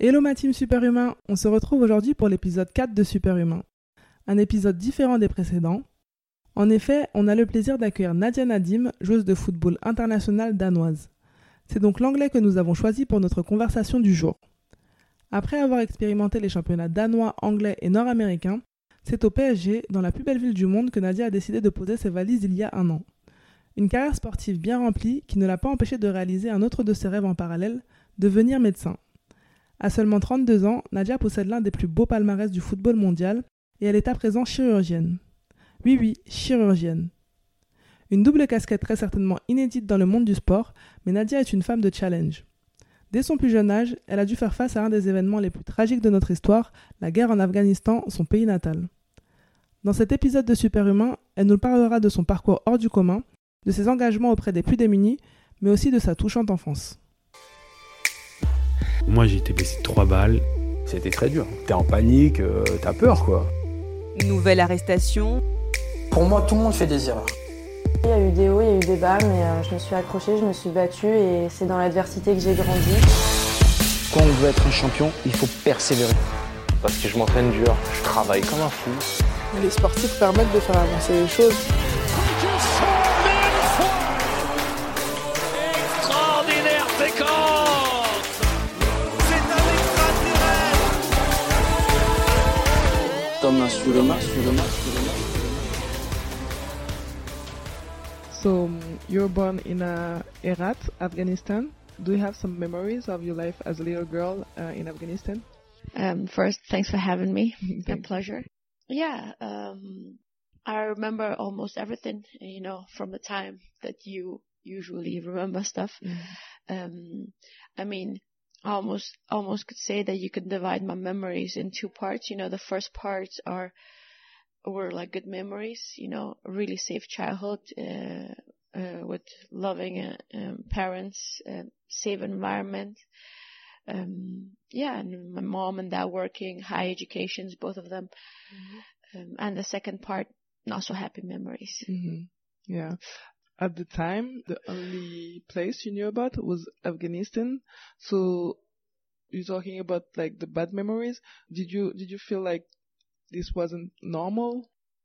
Hello ma team Superhumain, on se retrouve aujourd'hui pour l'épisode 4 de Superhumain. Un épisode différent des précédents. En effet, on a le plaisir d'accueillir Nadia Nadim, joueuse de football internationale danoise. C'est donc l'anglais que nous avons choisi pour notre conversation du jour. Après avoir expérimenté les championnats danois, anglais et nord-américains, c'est au PSG, dans la plus belle ville du monde, que Nadia a décidé de poser ses valises il y a un an. Une carrière sportive bien remplie qui ne l'a pas empêchée de réaliser un autre de ses rêves en parallèle, devenir médecin. À seulement 32 ans, Nadia possède l'un des plus beaux palmarès du football mondial et elle est à présent chirurgienne. Oui, chirurgienne. Une double casquette très certainement inédite dans le monde du sport, mais Nadia est une femme de challenge. Dès son plus jeune âge, elle a dû faire face à un des événements les plus tragiques de notre histoire, la guerre en Afghanistan, son pays natal. Dans cet épisode de Superhumain, elle nous parlera de son parcours hors du commun, de ses engagements auprès des plus démunis, mais aussi de sa touchante enfance. Moi, j'ai été blessé de 3 balles. C'était très dur. T'es en panique, t'as peur, quoi. Nouvelle arrestation. Pour moi, tout le monde fait des erreurs. Il y a eu des hauts, il y a eu des bas, mais je me suis accrochée, je me suis battue et c'est dans l'adversité que j'ai grandi. Quand on veut être un champion, il faut persévérer. Parce que je m'entraîne dur, je travaille comme un fou. Les sportifs permettent de faire avancer les choses. Extraordinaire séquence! Thomas sur le match. So, you were born in Herat, Afghanistan. Do you have some memories of your life as a little girl in Afghanistan? First, thanks for having me. A pleasure. Yeah, I remember almost everything, from the time that you usually remember stuff. I mean, almost could say that you could divide my memories in two parts. The first parts were like good memories, really safe childhood, with loving parents, safe environment. And my mom and dad working, high educations, both of them. And the second part, not so happy memories. Yeah. At the time, the only place you knew about was Afghanistan. So you're talking about like the bad memories. Did you feel like this wasn't normal?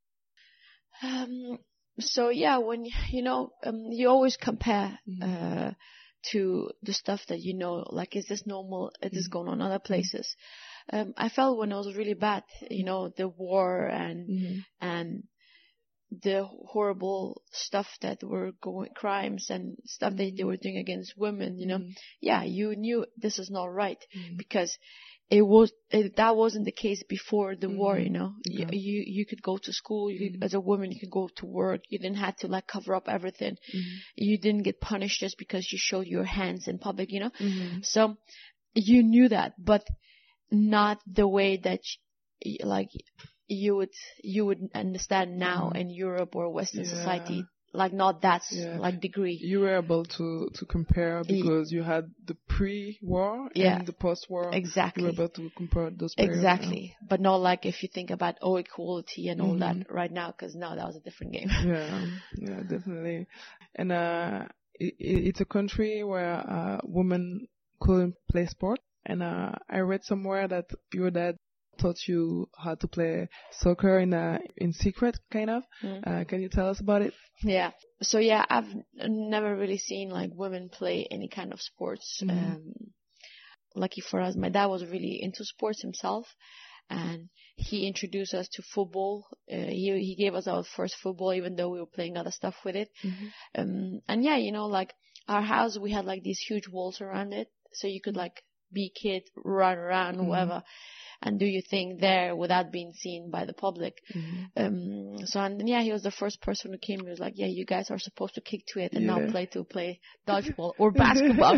So yeah, when you always compare to the stuff that like, is this normal? Is this going on other places? I felt when it was really bad, the war and the horrible stuff that were crimes and stuff that they were doing against women, yeah, you knew this is not right because that wasn't the case before the war, Okay. You could go to school, as a woman, you could go to work, you didn't have to like cover up everything. You didn't get punished just because you showed your hands in public, So you knew that, but not the way that you would understand now in Europe or Western society, like not that like degree. You were able to compare because you had the pre-war and the post-war. Exactly. You were able to compare those periods. Exactly. But not like if you think about equality and all that right now, because now that was a different game. Yeah, definitely. And it's a country where women couldn't play sport. And I read somewhere that your dad taught you how to play soccer in secret, kind of. Can you tell us about it? Yeah. So yeah, I've never really seen like women play any kind of sports. Lucky for us, my dad was really into sports himself, and he introduced us to football. He gave us our first football, even though we were playing other stuff with it. And yeah, like our house, we had like these huge walls around it, so you could like be a kid, run around, whatever, and do your thing there without being seen by the public. He was the first person who came. He was like, yeah, you guys are supposed to kick to it and not play dodgeball or basketball.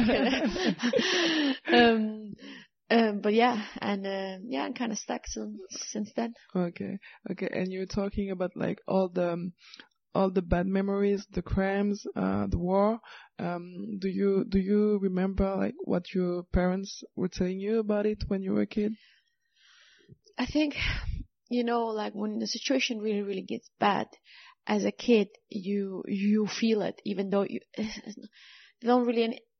But yeah, and I'm kind of stuck since then. Okay. And you're talking about like all the bad memories, the crimes, the war. Do you remember like what your parents were telling you about it when you were a kid? I think, like when the situation really, really gets bad, as a kid, you feel it, even though you don't really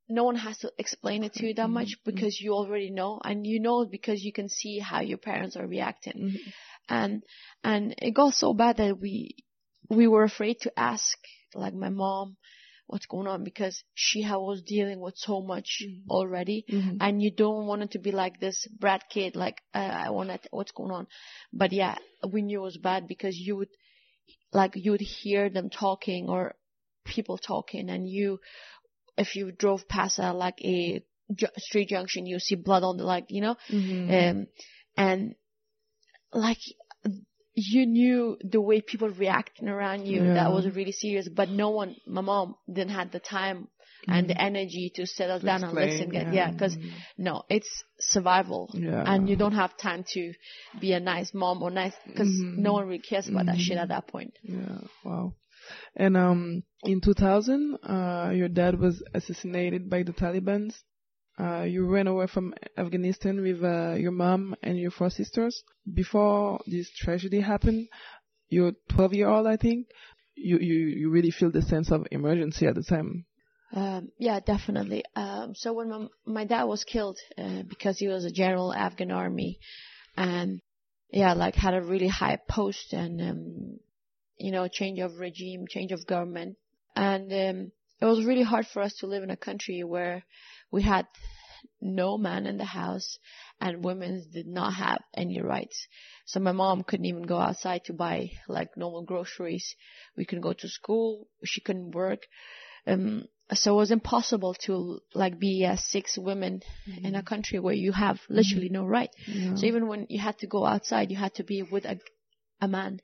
no one has to explain it to you that much because you already know, and you know because you can see how your parents are reacting. And it got so bad that we were afraid to ask, like, my mom what's going on, because she was dealing with so much already, and you don't want it to be like this brat kid, like, I want to, what's going on. But yeah, we knew it was bad because you would hear them talking or people talking, and if you drove past a street junction, you see blood on the, like, you know, and like, you knew the way people reacting around you, that was really serious, but my mom didn't have the time and the energy to sit us down and listen. Because no, it's survival, and you don't have time to be a nice mom or nice, because no one really cares about that shit at that point. Yeah, wow. And in 2000, your dad was assassinated by the Taliban. You ran away from Afghanistan with your mom and your 4 sisters. Before this tragedy happened, you're 12-year-old, I think. You really feel the sense of emergency at the time. Yeah, definitely. So when my dad was killed, because he was a general Afghan army, and had a really high post, and change of regime, change of government, and it was really hard for us to live in a country where we had no man in the house and women did not have any rights. So my mom couldn't even go outside to buy like normal groceries. We couldn't go to school. She couldn't work. So it was impossible to be 6 women in a country where you have literally no right. Yeah. So even when you had to go outside, you had to be with a man,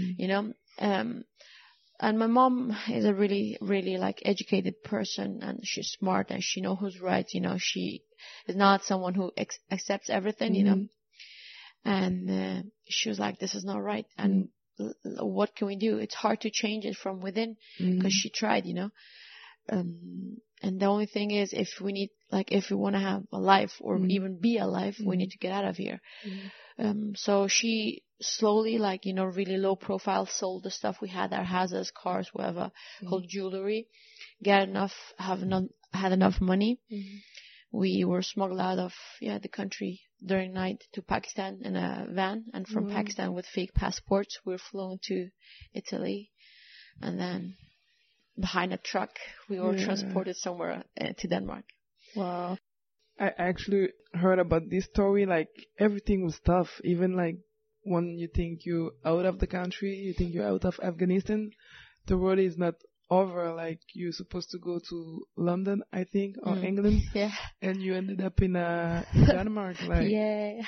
and my mom is a really, really educated person, and she's smart and she knows who's right. She is not someone who accepts everything, and she was like, this is not right. And what can we do? It's hard to change it from within because she tried, and the only thing is if we want to have a life or even be alive, we need to get out of here. So she slowly, really low profile, sold the stuff we had, our houses, cars, whatever, whole jewelry, had enough money. We were smuggled out of the country during night to Pakistan in a van, and from Pakistan with fake passports we were flown to Italy, and then behind a truck we were transported somewhere to Denmark. Wow. I actually heard about this story, everything was tough, even when you think you're out of the country, you think you're out of Afghanistan, the road is not over, you're supposed to go to London, I think, or England, and you ended up in Denmark. Yeah.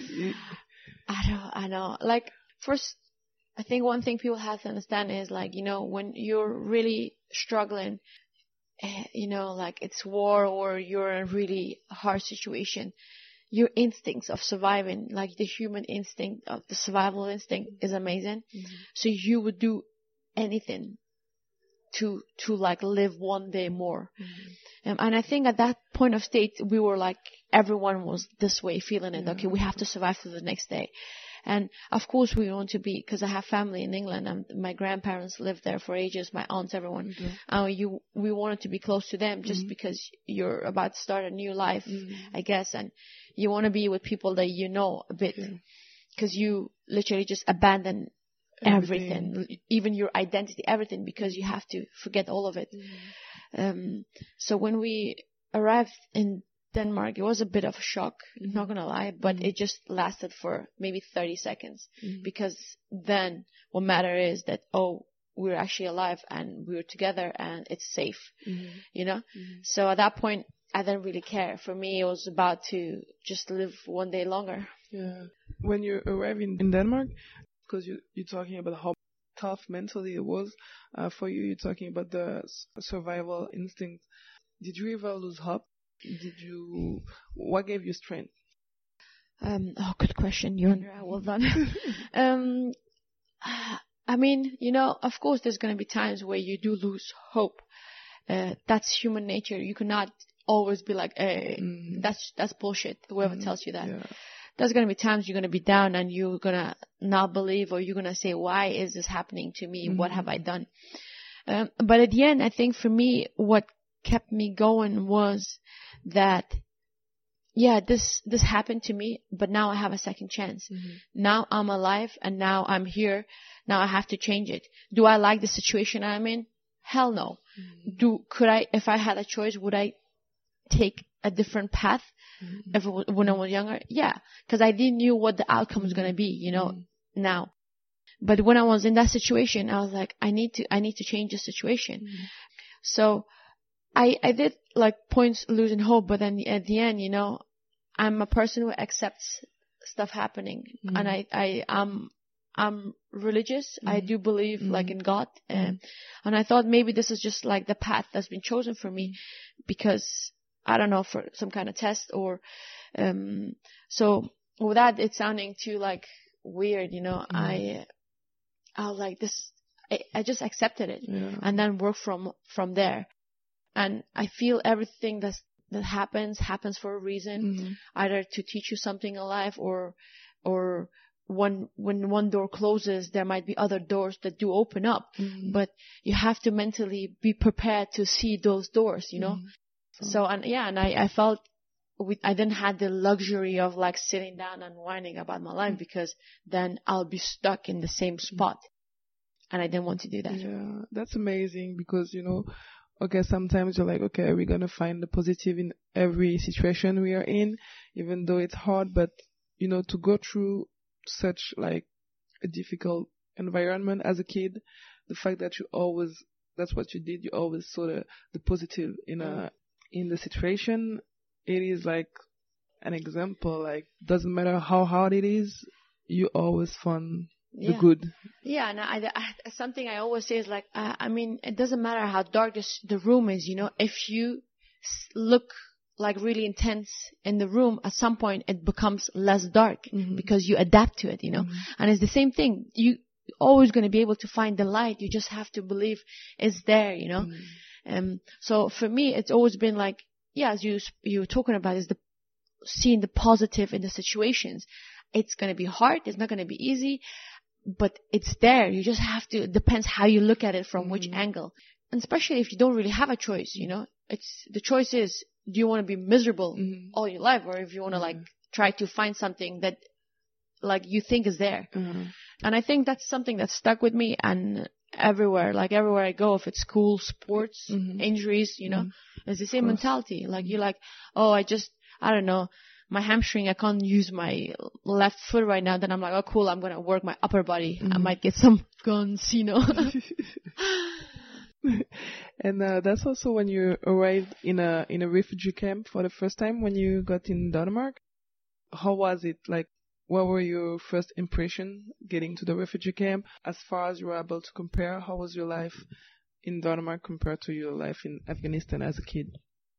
I know. First, I think one thing people have to understand is, when you're really struggling, it's war or you're in a really hard situation, your instincts of surviving, the human instinct of the survival instinct is amazing. So you would do anything to live one day more. And I think at that point of state, we were everyone was this way, feeling it. Okay, we have to survive to the next day. And of course we want to be, because I have family in England and my grandparents lived there for ages, my aunts, everyone. We wanted to be close to them just because you're about to start a new life, I guess. And you want to be with people that you know a bit, because you literally just abandon everything, even your identity, everything, because you have to forget all of it. So when we arrived in Denmark, it was a bit of a shock, not gonna lie, but it just lasted for maybe 30 seconds, because then what matters is that, we're actually alive and we're together and it's safe, So at that point, I didn't really care. For me, it was about to just live one day longer. Yeah. When you arrived in Denmark, because you're talking about how tough mentally it was for you, you're talking about the survival instinct. Did you ever lose hope? What gave you strength? Good question. Well done. I mean, of course there's going to be times where you do lose hope. That's human nature. You cannot always be like, hey, that's bullshit, whoever tells you that. Yeah. There's going to be times you're going to be down and you're going to not believe, or you're going to say, why is this happening to me? What have I done? But at the end, I think for me, what kept me going was that, yeah, this happened to me, but now I have a second chance. Now I'm alive and now I'm here. Now I have to change it. Do I like the situation I'm in? Hell no. If I had a choice, would I take a different path when I was younger? Yeah, because I didn't knew what the outcome was going to be, now. But when I was in that situation, I was like, I need to change the situation. So I did like points losing hope, but then at the end, I'm a person who accepts stuff happening, and I'm religious. I do believe like in God, and I thought maybe this is just like the path that's been chosen for me, because I don't know, for some kind of test or so without it sounding too like weird, I was like this. I just accepted it and then worked from there. And I feel everything that happens for a reason, either to teach you something in life or when one door closes, there might be other doors that do open up. But you have to mentally be prepared to see those doors, So, and I felt I didn't have the luxury of like sitting down and whining about my life, because then I'll be stuck in the same spot. And I didn't want to do that. Yeah, that's amazing, because, okay, sometimes you're like, okay, we're going to find the positive in every situation we are in, even though it's hard. But, to go through such like a difficult environment as a kid, the fact that that's what you did, you always saw the positive in the situation. It is like an example, like, doesn't matter how hard it is, you always find the good. Yeah, and something I always say is like, it doesn't matter how dark the room is, if you look like really intense in the room, at some point it becomes less dark because you adapt to it, And it's the same thing. You always going to be able to find the light. You just have to believe it's there, So for me, it's always been like, as you were talking about, is seeing the positive in the situations. It's going to be hard. It's not going to be easy, but it's there. You just have to, it depends how you look at it from which angle. And especially if you don't really have a choice, the choice is, do you want to be miserable all your life, or if you want to like try to find something that like you think is there. And I think that's something that stuck with me, and everywhere I go, if it's school, sports, injuries, it's the same mentality. Like you're like, oh, I don't know, my hamstring, I can't use my left foot right now. Then I'm like, oh, cool, I'm going to work my upper body. I might get some guns, And that's also when you arrived in a refugee camp for the first time when you got in Denmark. How was it? Like, what were your first impression getting to the refugee camp? As far as you were able to compare, how was your life in Denmark compared to your life in Afghanistan as a kid?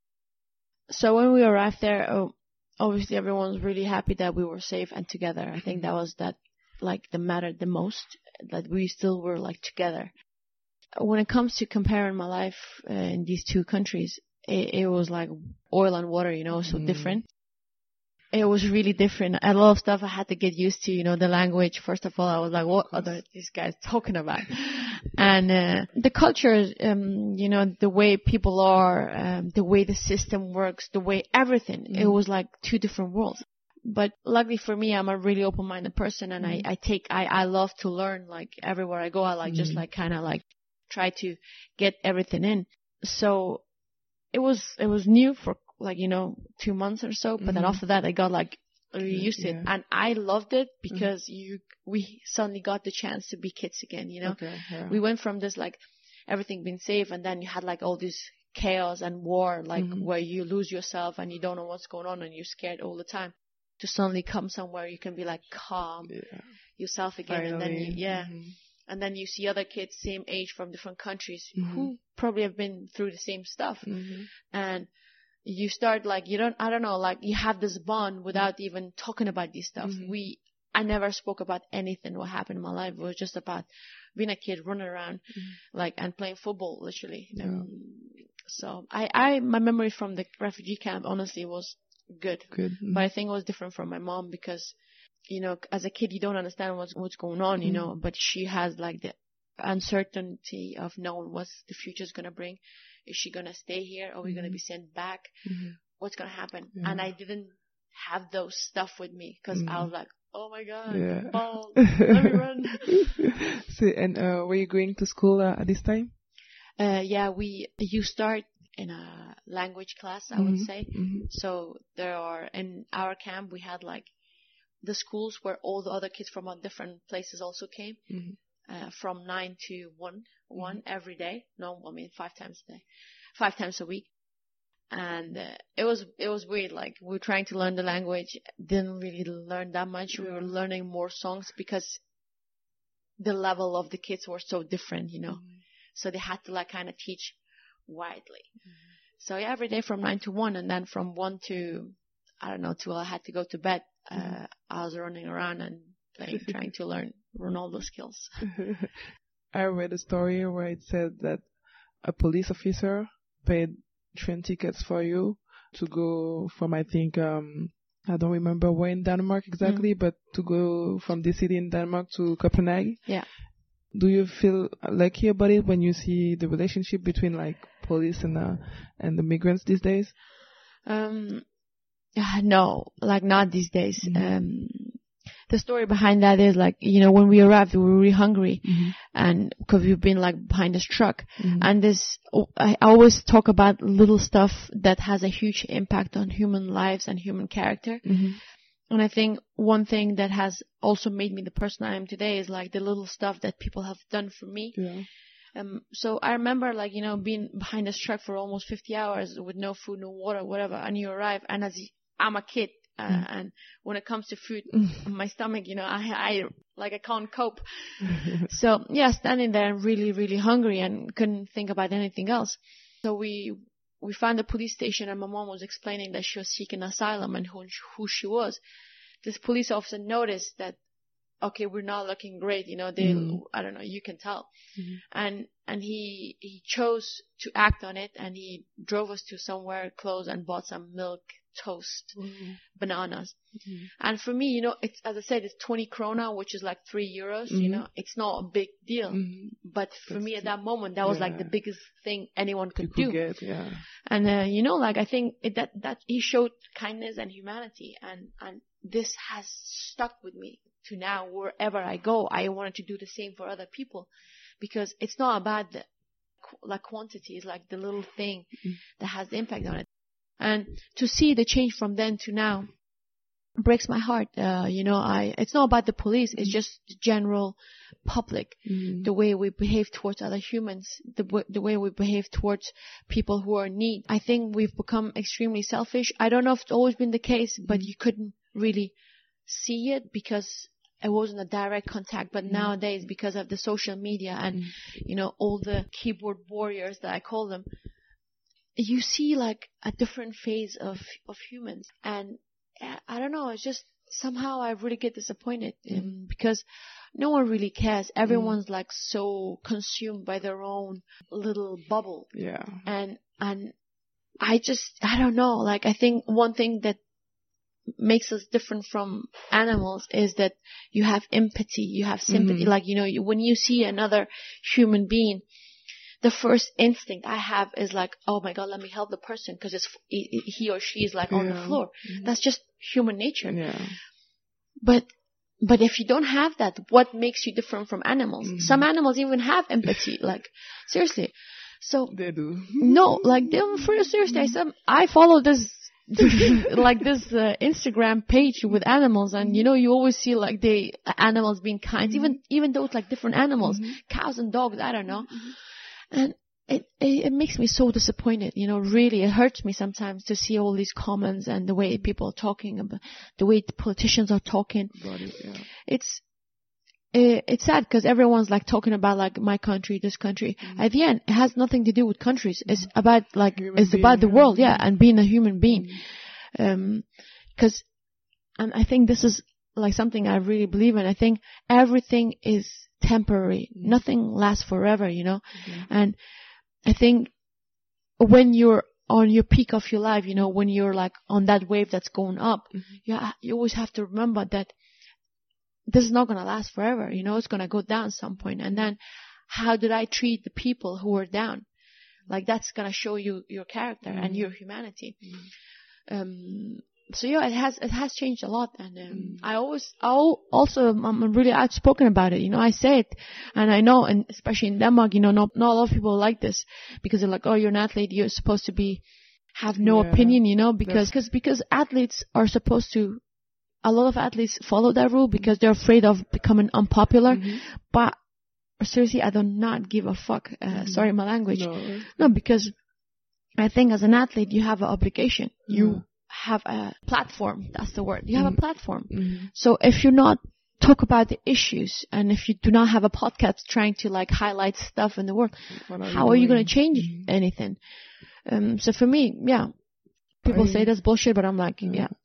So when we arrived there, obviously everyone was really happy that we were safe and together. I think that was that mattered the most, that we still were like together. When it comes to comparing my life in these two countries, it was like oil and water, so different. It was really different. A lot of stuff I had to get used to, the language. First of all, I was like, what are these guys talking about? And the culture, the way people are, the way the system works, the way everything, it was like two different worlds. But luckily for me, I'm a really open-minded person, and I love to learn. Like everywhere I go, I like just like kind of like try to get everything in. So it was new for 2 months or so, but then after that I got like really used to it, and I loved it because we suddenly got the chance to be kids again, We went from this like everything being safe, and then you had like all this chaos and war, like where you lose yourself and you don't know what's going on and you're scared all the time, to suddenly come somewhere you can be like calm yourself again. Finally. And then and then you see other kids same age from different countries who probably have been through the same stuff, and you start like you have this bond without even talking about these stuff. I never spoke about anything what happened in my life. It was just about being a kid, running around and playing football literally. So my memory from the refugee camp honestly was good. But I think it was different from my mom, because as a kid you don't understand what's going on, but she has like the uncertainty of knowing what the future is going to bring. Is she going to stay here? Are we going to be sent back? What's going to happen? Yeah. And I didn't have those stuff with me because I was like, oh my God, Yeah. balls, let me run. So, and were you going to school at this time? You start in a language class, I would say. So in our camp, we had like the schools where all the other kids from different places also came, from 9 to 1 every day. 5 times a day, 5 times a week. And it was weird. Like, we were trying to learn the language, didn't really learn that much. We were learning more songs because the level of the kids were so different, So they had to like kind of teach widely. So every day from 9 to 1, and then from 1 to, I don't know, till I had to go to bed, I was running around and trying to learn Ronaldo skills. I read a story where it said that a police officer paid train tickets for you to go from, I think, I don't remember where in Denmark exactly, but to go from this city in Denmark to Copenhagen. Yeah. Do you feel lucky about it when you see the relationship between like police and the migrants these days? No, like not these days. The story behind that is like, when we arrived, we were really hungry, and because we've been like behind this truck, and I always talk about little stuff that has a huge impact on human lives and human character. And I think one thing that has also made me the person I am today is like the little stuff that people have done for me. Yeah. So I remember like, being behind this truck for almost 50 hours with no food, no water, whatever, and you arrive, and I'm a kid. And when it comes to food, my stomach, I can't cope. So standing there really, really hungry and couldn't think about anything else. So we found a police station, and my mom was explaining that she was seeking asylum and who she was. This police officer noticed that, okay, we're not looking great, I don't know, you can tell. And he chose to act on it, and he drove us to somewhere close and bought some milk, toast, bananas. And for me, it's, as I said, it's 20 krona, which is like 3 euros, it's not a big deal. But for me at that moment, that was like the biggest thing anyone could do. And, I think that he showed kindness and humanity, and this has stuck with me to now. Wherever I go, I wanted to do the same for other people, because it's not about the quantity, it's like the little thing that has the impact on it. And to see the change from then to now breaks my heart. It's not about the police, it's just the general public, the way we behave towards other humans, the way we behave towards people who are in need. I think we've become extremely selfish. I don't know if it's always been the case, but you couldn't really see it because it wasn't a direct contact. But nowadays, because of the social media and, all the keyboard warriors that I call them, you see like a different phase of humans. And I don't know, it's just somehow I really get disappointed because no one really cares. Everyone's like so consumed by their own little bubble. Yeah. And I don't know, like I think one thing that makes us different from animals is that you have empathy, you have sympathy. Like, when you see another human being, the first instinct I have is like, oh my God, let me help the person because he or she is like on the floor. That's just human nature. Yeah. But if you don't have that, what makes you different from animals? Some animals even have empathy, like seriously. So they do. No, like seriously, I follow this like this Instagram page with animals, and you always see like the animals being kind, even though it's like different animals, cows and dogs, I don't know. And it makes me so disappointed, really. It hurts me sometimes to see all these comments and the way people are talking about, the way the politicians are talking. It's sad because everyone's like talking about like my country, this country. At the end, it has nothing to do with countries. It's about like, it's about the world, and being a human being. And I think this is like something I really believe in. I think everything is temporary. Nothing lasts forever, And I think when you're on your peak of your life, when you're like on that wave that's going up, you always have to remember that this is not going to last forever. It's going to go down at some point. And then how did I treat the people who were down? Like that's gonna show you your character and your humanity. So yeah, it has changed a lot, and I'm really outspoken about it. You know, I say it, and I know, and especially in Denmark, you know, not a lot of people like this because they're like, oh, you're an athlete, you're supposed to have no opinion, you know, because athletes are supposed to. A lot of athletes follow that rule because they're afraid of becoming unpopular. But seriously, I do not give a fuck. Sorry, my language. No, because I think as an athlete, you have an obligation. You have a platform. That's the word. You have a platform. So if you're not talk about the issues, and if you do not have a podcast trying to like highlight stuff in the world, how are you going to change anything? So for me, yeah. People say that's bullshit, but I'm like,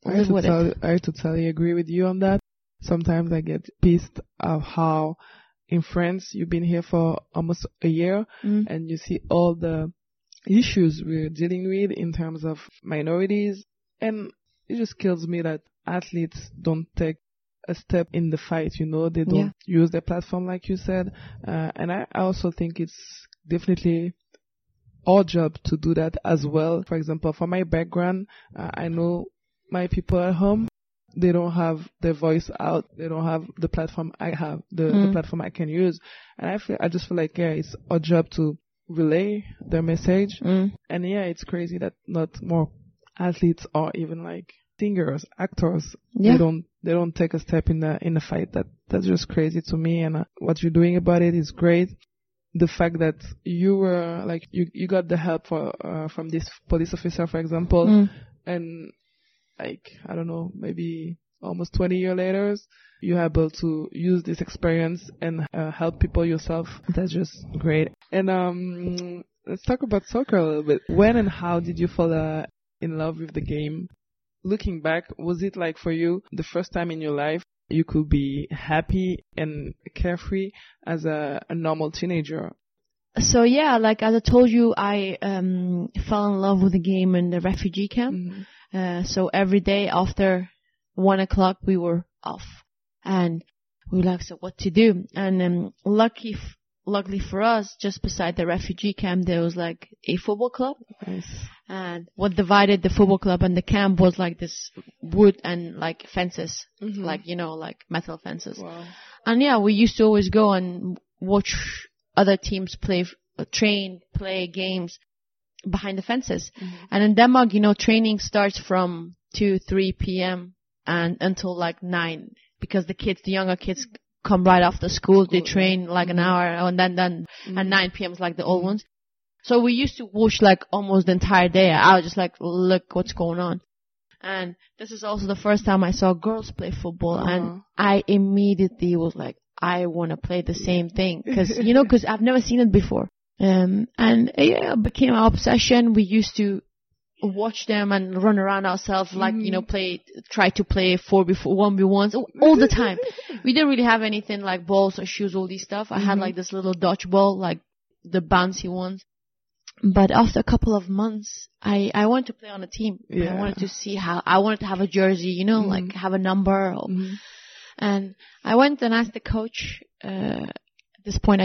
I totally agree with you on that. Sometimes I get pissed of how in France you've been here for almost a year and you see all the issues we're dealing with in terms of minorities, and it just kills me that athletes don't take a step in the fight, you know, they don't use their platform like you said, and I also think it's definitely our job to do that as well. For example, for my background, I know my people at home, they don't have their voice out. They don't have the platform I have, the platform I can use. And I just feel like, it's our job to relay their message. And it's crazy that not more athletes or even like singers, actors, they don't take a step in the fight. That's just crazy to me. And what you're doing about it is great. The fact that you were like you got the help from this police officer, for example, and like I don't know, maybe almost 20 years later, you're able to use this experience and help people yourself. That's just great. And let's talk about soccer a little bit. When and how did you fall in love with the game? Looking back, was it like for you the first time in your life you could be happy and carefree as a normal teenager? So yeah, like as I told you, I fell in love with the game in the refugee camp. So every day after 1 o'clock we were off, and we were like, so what to do? And luckily for us, just beside the refugee camp there was like a football club. Nice. And what divided the football club and the camp was like this wood and like fences, like, you know, like metal fences. Wow. And yeah, we used to always go and watch other teams play games behind the fences. And in Denmark, you know, training starts from 2-3 p.m. and until like 9, because the younger kids come right after school. They train like an hour, and then and 9 p.m. is like the old ones. So we used to watch like almost the entire day. I was just like, look what's going on. And this is also the first time I saw girls play football, and I immediately was like, I want to play the same thing, because I've never seen it before. And it became an obsession. We used to watch them and run around ourselves, like, you know, try to play 1v1s all the time. We didn't really have anything like balls or shoes, all these stuff. I had like this little dodgeball, like the bouncy ones. But after a couple of months, I wanted to play on a team. I wanted to see I wanted to have a jersey, you know, like have a number. And I went and asked the coach. At this point,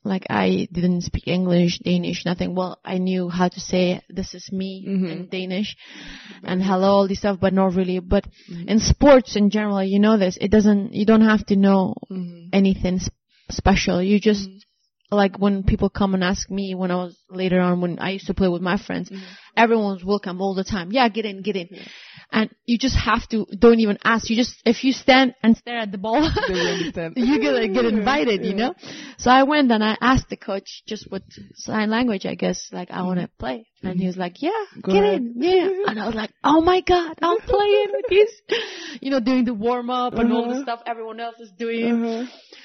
I didn't speak English, Danish, nothing. Well, I knew how to say, this is me in Danish and hello, all this stuff, but not really. But in sports in general, you know this, you don't have to know anything special. You just, like when people come and ask me when I used to play with my friends, everyone's welcome all the time. Yeah, get in. Yeah. And you just have to, don't even ask. If you stand and stare at the ball, you're gonna get invited, you know? So I went and I asked the coach just with sign language, I guess, like, I want to play. And he was like, get in. Yeah. And I was like, oh my God, I'm playing with this, you know, doing the warm up and all the stuff everyone else is doing.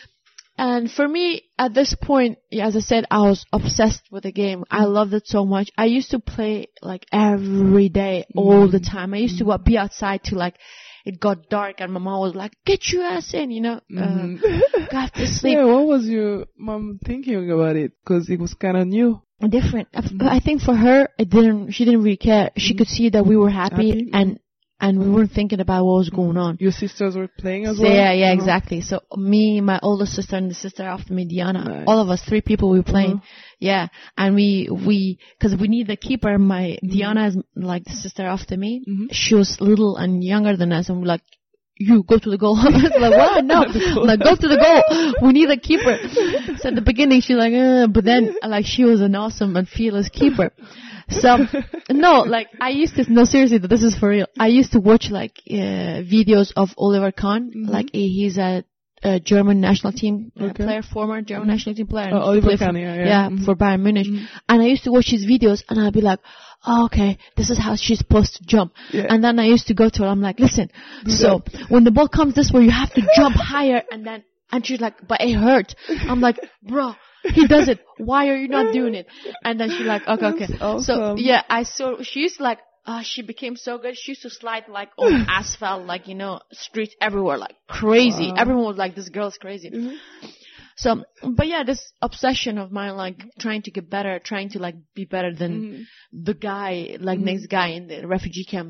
And for me, at this point, as I said, I was obsessed with the game. I loved it so much. I used to play like every day, all the time. I used to be outside till like it got dark, and my mom was like, "Get your ass in," you know. Got to sleep. Yeah, what was your mom thinking about it? Because it was kind of new. Different. I think for her, she didn't really care. She could see that we were happy. And and we weren't thinking about what was going on. Your sisters were playing as So, well? yeah, exactly. So me, my older sister, and the sister after me, Diana, all of us, 3 people, we were playing. Yeah, and we, cause we need a keeper. Diana is like the sister after me. She was little and younger than us, and we're like, you go to the goal. I was like, what? No. Like, go to the goal. We need a keeper. So at the beginning, she's like, but then, like, she was an awesome and fearless keeper. So, no, like, no, seriously, this is for real. I used to watch, like, videos of Oliver Kahn. Like, he's a German national team player, former German national team player. Oliver Kahn, yeah. For Bayern Munich. And I used to watch his videos, and I'd be like, oh, okay, this is how she's supposed to jump. Yeah. And then I used to go to her, I'm like, listen, so when the ball comes this way, you have to jump higher, and she's like, but it hurt. I'm like, bro, he does it. Why are you not doing it? And then she's like, okay. Awesome. So, yeah, she used to like, she became so good. She used to slide like on asphalt, like, streets everywhere, like crazy. Wow. Everyone was like, this girl's crazy. So, but yeah, this obsession of mine, like trying to get better, trying to like be better than the guy, like next guy in the refugee camp,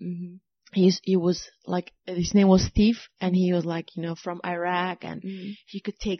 he was like, his name was Steve, and he was like, from Iraq, and he could take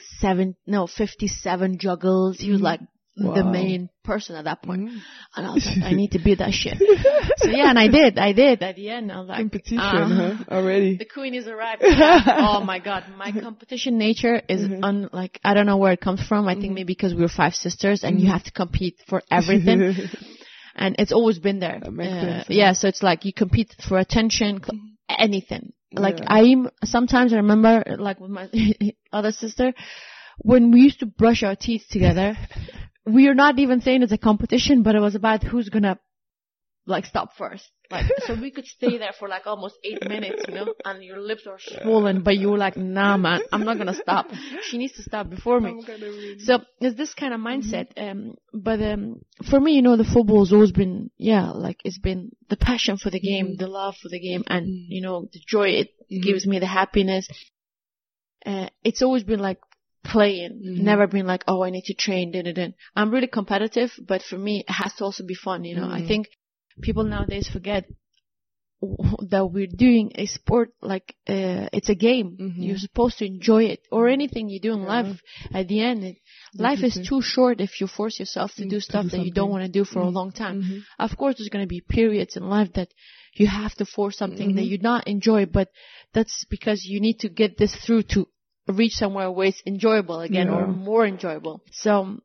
57 juggles. He was like the main person at that point. And I was like, I need to be that shit. So yeah, and I did at the end. I was like, competition, already. The queen is arrived. Oh my god, my competition nature is like, I don't know where it comes from. I think maybe because we were 5 sisters and you have to compete for everything. And it's always been there. That makes sense. Yeah, so it's like you compete for attention, anything. Like sometimes I remember, like with my other sister, when we used to brush our teeth together, we are not even saying it's a competition, but it was about who's gonna like stop first. Like, so we could stay there for like almost 8 minutes, and your lips are swollen, but you were like, nah, man, I'm not gonna stop. She needs to stop before me. So it's this kind of mindset. But for me, the football has always been, like it's been the passion for the game, the love for the game, and the joy it gives me, the happiness. It's always been like playing, never been like, oh, I need to train. I'm really competitive, but for me, it has to also be fun. I think people nowadays forget that we're doing a sport like it's a game. You're supposed to enjoy it, or anything you do in life. At the end, life is too short if you force yourself to do stuff that you don't want to do for a long time. Of course, there's going to be periods in life that you have to force something that you not enjoy, but that's because you need to get this through to reach somewhere where it's enjoyable again, or more enjoyable. So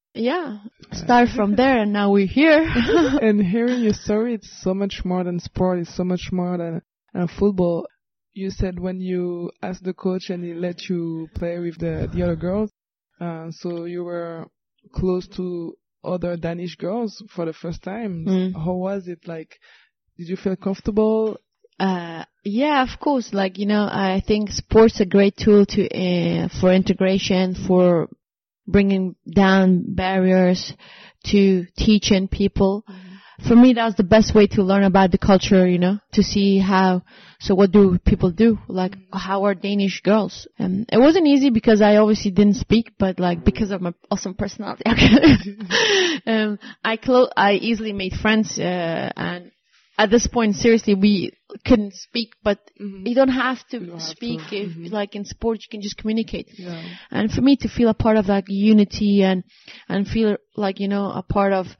start from there, and now we're here. And hearing your story, it's so much more than sport. It's so much more than football. You said when you asked the coach and he let you play with the other girls, so you were close to other Danish girls for the first time. How was it? Like, did you feel comfortable? Yeah, of course. Like, I think sport's a great tool for integration, for bringing down barriers, to teaching people. For me, that's the best way to learn about the culture, to see so what do people do? Like, how are Danish girls? It wasn't easy because I obviously didn't speak, but like, because of my awesome personality, I easily made friends, and at this point, seriously, we couldn't speak, but you don't have to speak. If, like in sports, you can just communicate. Yeah. And for me to feel a part of like unity and feel like, a part of,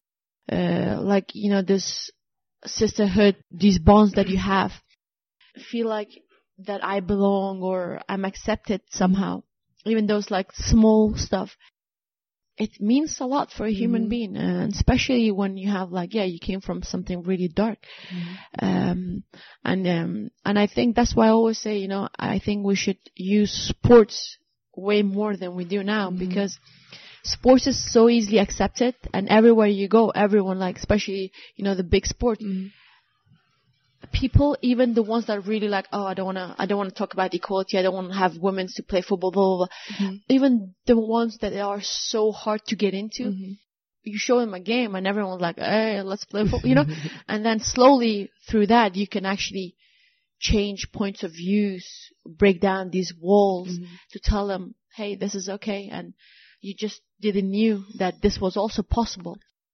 this sisterhood, these bonds that you have, feel like that I belong or I'm accepted somehow, even those like small stuff. It means a lot for a human being, and especially when you have like, you came from something really dark. And I think that's why I always say, I think we should use sports way more than we do now, because sports is so easily accepted, and everywhere you go, everyone, like, especially, the big sport, people, even the ones that really like, oh, I don't want to talk about equality, I don't want to have women to play football, blah, blah, blah. Even the ones that are so hard to get into, you show them a game and everyone's like, hey, let's play football, and then slowly through that, you can actually change points of views, break down these walls to tell them, hey, this is okay, and you just didn't knew that this was also possible.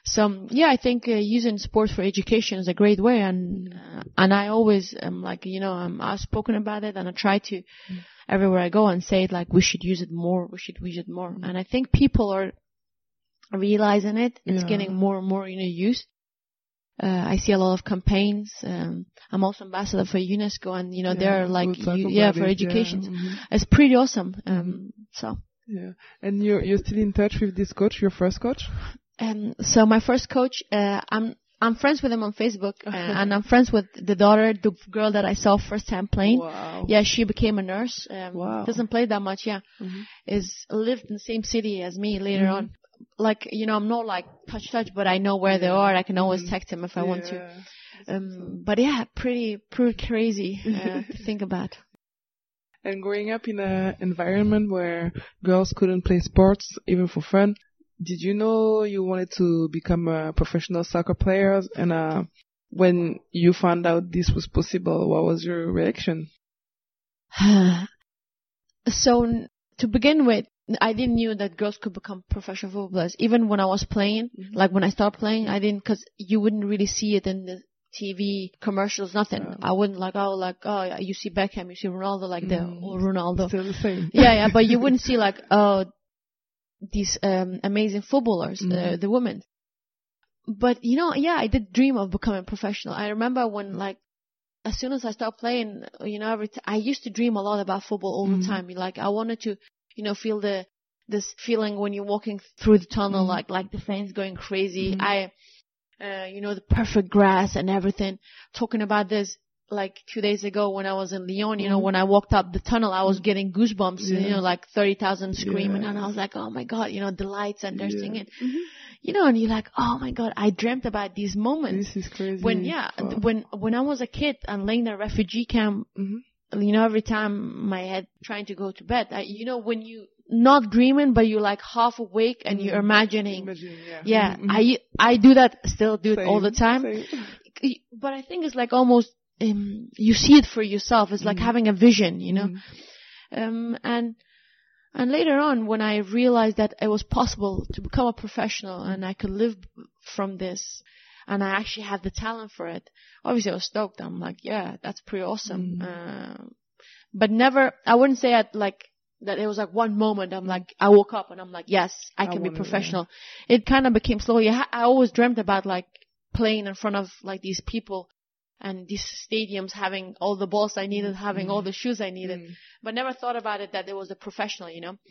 So yeah, I think using sports for education is a great way, and I always am like, you know, I'm outspoken about it, and I try to everywhere I go and say it, like, we should use it more, and I think people are realizing it. It's getting more and more, you know, used. I see a lot of campaigns. I'm also ambassador for UNESCO, and you know, they're like, for education. It's pretty awesome. So. Yeah, and you're still in touch with this coach, your first coach? So my first coach, I'm friends with him on Facebook, and I'm friends with the daughter, the girl that I saw first time playing. Wow. Yeah, she became a nurse. Wow. Doesn't play that much. Yeah, lived in the same city as me later on. Like, you know, I'm not like touch, but I know where they are. I can always text them if I want to. But yeah, pretty crazy to think about. And growing up in an environment where girls couldn't play sports, even for fun, did you know you wanted to become a professional soccer player? And when you found out this was possible, what was your reaction? So, to begin with, I didn't know that girls could become professional footballers. Even when I was playing, like when I started playing, I didn't, because you wouldn't really see it in the TV commercials, nothing. I wouldn't oh, you see Beckham, you see Ronaldo, like the Ronaldo. Still the same. Yeah, but you wouldn't see like, these amazing footballers, the women. But you know, yeah, I did dream of becoming professional. I remember when, like, as soon as I started playing, you know, I used to dream a lot about football all the time. Like, I wanted to, you know, feel this feeling when you're walking through the tunnel, like the fans going crazy. You know, the perfect grass and everything. Talking about this, like 2 days ago when I was in Lyon, you know, when I walked up the tunnel, I was getting goosebumps, you know, like 30,000 screaming, and I was like, oh my God, you know, the lights and they're singing, you know, and you're like, oh my God, I dreamt about these moments. This is crazy. When I was a kid and laying in a refugee camp, you know, every time my head trying to go to bed, you know, when you not dreaming, but you're like half awake and you're imagining. I do that, still do it all the time. But I think it's like almost, you see it for yourself. It's like having a vision, you know. And later on, when I realized that it was possible to become a professional and I could live from this, and I actually had the talent for it, obviously I was stoked. I'm like, yeah, that's pretty awesome. But never, I wouldn't say that it was like one moment. I'm like, I woke up and I'm like, yes, I can be professional. It kind of became slowly. I always dreamt about like playing in front of like these people and these stadiums, having all the balls I needed, having all the shoes I needed, but never thought about it that it was a professional, you know.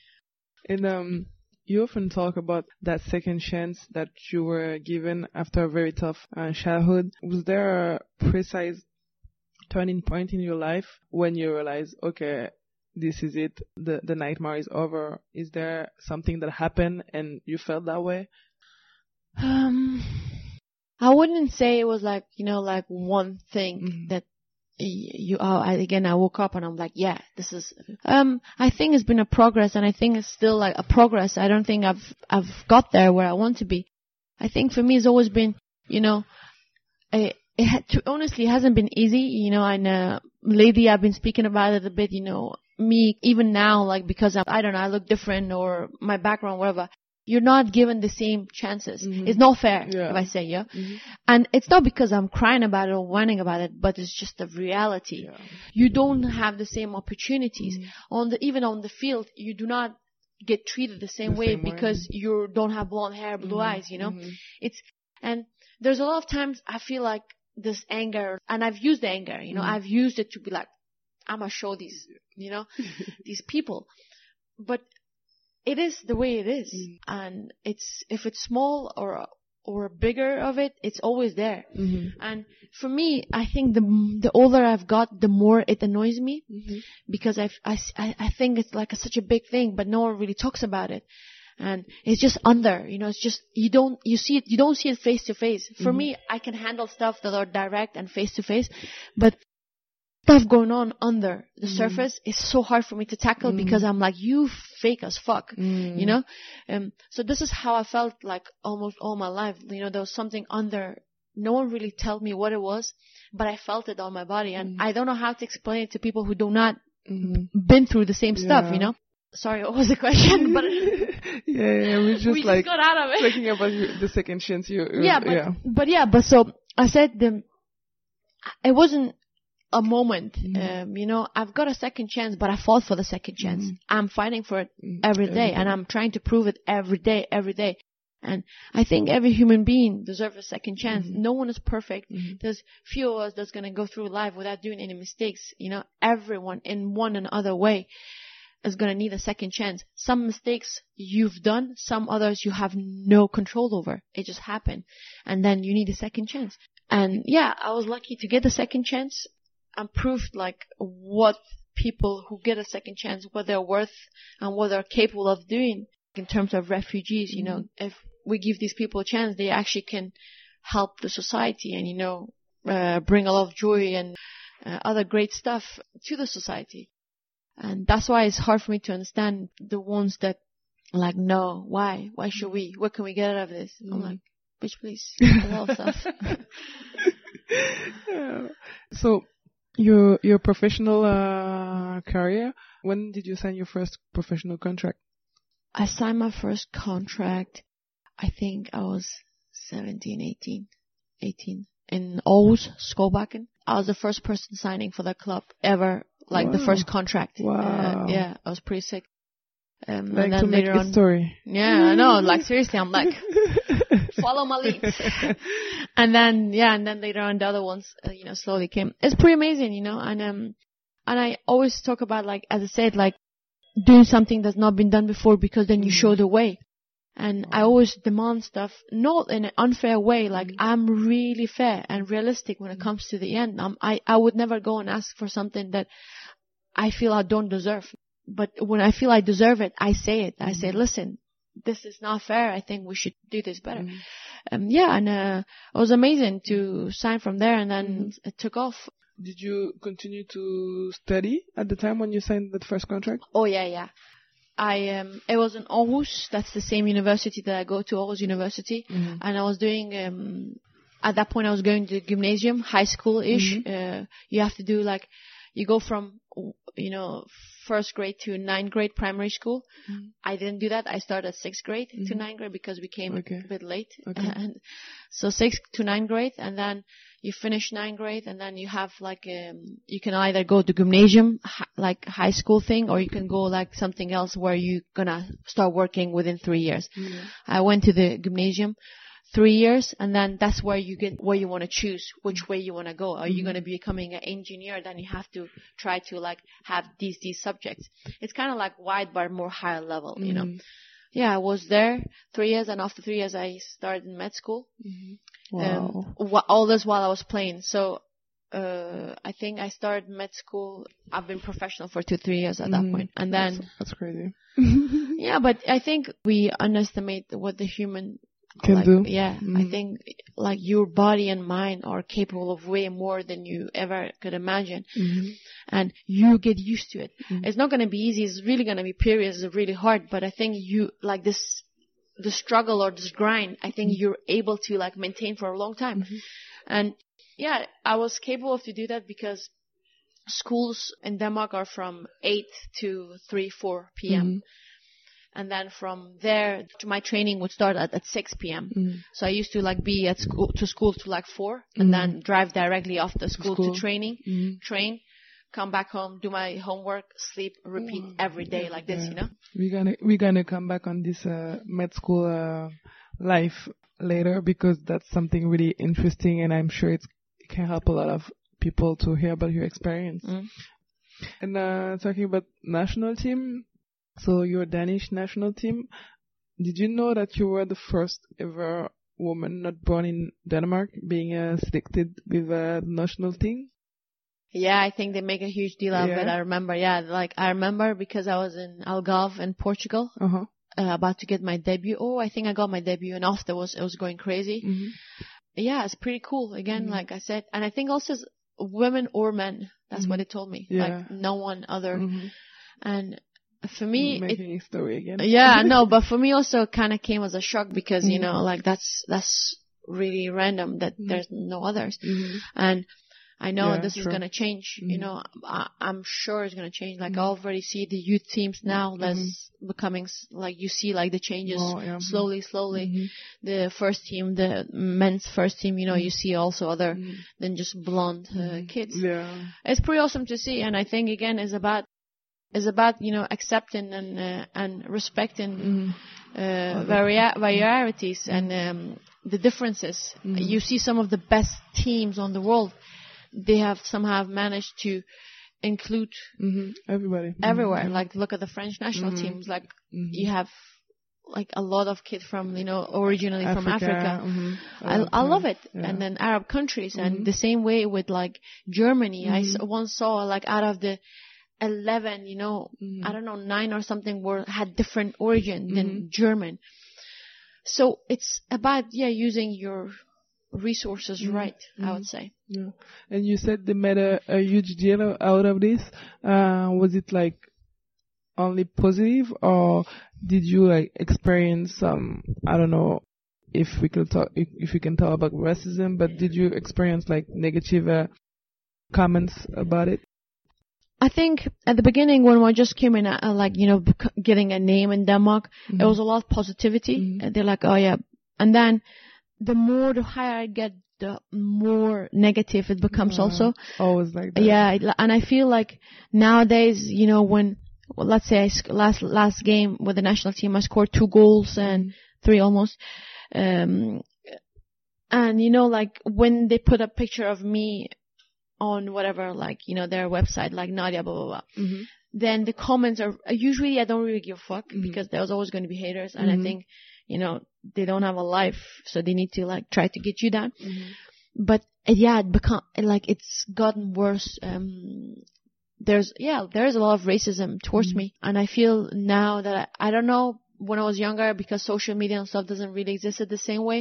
And you often talk about that second chance that you were given after a very tough childhood. Was there a precise turning point in your life when you realized, okay, this is it, the nightmare is over? Is there something that happened and you felt that way? I wouldn't say it was like, you know, like one thing that I woke up and I'm like, yeah, this is, I think it's been a progress, and I think it's still like a progress. I don't think I've got there where I want to be. I think for me it's always been, you know, honestly, it hasn't been easy, you know, and lately I've been speaking about it a bit, you know, me, even now, like, because I don't know, I look different or my background, whatever, you're not given the same chances. It's not fair, if I say, And it's not because I'm crying about it or whining about it, but it's just the reality. You don't have the same opportunities. Even on the field, you do not get treated the same way because you don't have blonde hair, blue eyes, you know. And there's a lot of times I feel like this anger, and I've used the anger, you know, I've used it to be like, I'm gonna show these, you know, these people. But it is the way it is. And if it's small or bigger of it, it's always there. And for me, I think the older I've got, the more it annoys me, because I think it's like such a big thing, but no one really talks about it. And it's just under, you know, it's just, you don't see it face to face. For me, I can handle stuff that are direct and face to face, but stuff going on under the surface is so hard for me to tackle because I'm like, you fake as fuck, you know? So this is how I felt like almost all my life. You know, there was something under. No one really told me what it was, but I felt it on my body. And I don't know how to explain it to people who do not been through the same stuff, you know? Sorry, what was the question? But we just got out of it. Talking about the second chance. But so I said it wasn't a moment. I've got a second chance, but I fought for the second chance. I'm fighting for it every day, and I'm trying to prove it every day. And I think every human being deserves a second chance. No one is perfect. There's few of us that's going to go through life without doing any mistakes. Everyone in one and other way is going to need a second chance. Some mistakes you've done, some others you have no control over. It just happened. And then you need a second chance. And I was lucky to get a second chance and proved what people who get a second chance, what they're worth and what they're capable of doing. In terms of refugees, if we give these people a chance, they actually can help the society and, bring a lot of joy and other great stuff to the society. And that's why it's hard for me to understand the ones that no, why should we? What can we get out of this? I'm like, bitch, please. A lot of stuff. So your professional career, when did you sign your first professional contract? I signed my first contract, I think I was 18 in Aarhus, Skovbakken. I was the first person signing for that club ever, the first contract. Wow. I was pretty sick. And then later on, story. Yeah, I know. Seriously, I'm follow my lead. and then later on, the other ones, slowly came. It's pretty amazing, and I always talk about, as I said, doing something that's not been done before, because then you show the way. And I always demand stuff, not in an unfair way. I'm really fair and realistic when it comes to the end. I would never go and ask for something that I feel I don't deserve. But when I feel I deserve it, I say it. I say, listen, this is not fair. I think we should do this better. It was amazing to sign from there, and then it took off. Did you continue to study at the time when you signed that first contract? Oh, yeah. It was in Aarhus. That's the same university that I go to, Aarhus University. And I was doing, at that point I was going to gymnasium, high school-ish. You have to do you go from, first grade to 9th grade primary school. I didn't do that. I started 6th grade to 9th grade because we came a bit late. And so 6th to 9th grade, and then you finish 9th grade, and then you have you can either go to gymnasium, high school thing, or you can go something else where you're gonna start working within 3 years. I went to the gymnasium 3 years, and then that's where you get where you want to choose which way you want to go. Are you going to be becoming an engineer? Then you have to try to have these subjects. It's kind of wide but more higher level, Yeah, I was there 3 years, and after 3 years I started in med school. Wow. All this while I was playing. So I think I started med school. I've been professional for 2-3 years at that point. And then that's crazy. Yeah, but I think we underestimate what the human can do. Yeah, I think your body and mind are capable of way more than you ever could imagine. And you get used to it. It's not going to be easy. It's really going to be periods. It's really hard. But I think you the struggle or this grind, I think you're able to maintain for a long time. And yeah, I was capable to do that because schools in Denmark are from 8 to 3-4 p.m. And then from there, my training would start at 6 p.m. So I used to be at school to 4, and then drive directly after school to training, train, come back home, do my homework, sleep, repeat every day this, We're gonna come back on this med school life later, because that's something really interesting, and I'm sure it can help a lot of people to hear about your experience. And talking about national team. So your Danish national team, did you know that you were the first ever woman not born in Denmark being selected with a national team? Yeah, I think they make a huge deal out of it. I remember, I remember because I was in Algarve in Portugal, about to get my debut. Oh, I think I got my debut, and afterwards it was going crazy. Yeah, it's pretty cool. Again, like I said, and I think also women or men. That's what they told me. No one other. And for me, making a story again. Yeah, no, but for me also kind of came as a shock because that's really random that there's no others. And I know Yeah, this is true. going to change. Mhm. You know, I'm sure it's going to change. Like I already see the youth teams now that's becoming like you see like the changes Oh, yeah. slowly. Mhm. The first team, the men's first team, you know, you see also other than just blonde kids. Yeah. It's pretty awesome to see, and I think again is about you know accepting and respecting varieties and the differences. You see some of the best teams on the world. They have somehow managed to include Everybody. everywhere. Like look at the French national teams. Like you have like a lot of kids from you know originally from Africa. I love it. Yeah. And then Arab countries and the same way with like Germany. I once saw like out of the 11, you know, I don't know, 9 or something had different origin than German. So it's about using your resources right, I would say. Yeah. And you said they made a huge deal out of this. Was it like only positive, or did you like experience some, I don't know if we can talk about racism, but did you experience like negative comments about it? I think at the beginning when I just came in, like, you know, getting a name in Denmark, there was a lot of positivity. They're like, oh yeah. And then the higher I get, the more negative it becomes also. Always like that. Yeah. And I feel like nowadays, you know, when, well, let's say last game with the national team, I scored 2 goals and 3 almost. And you know, like when they put a picture of me on whatever, like, you know, their website, like Nadia, blah, blah, blah. Then the comments are, usually I don't really give a fuck because there's always going to be haters. And I think, you know, they don't have a life, so they need to like try to get you down. But yeah, it's gotten worse. There's a lot of racism towards me. And I feel now that I don't know, when I was younger, because social media and stuff doesn't really exist the same way.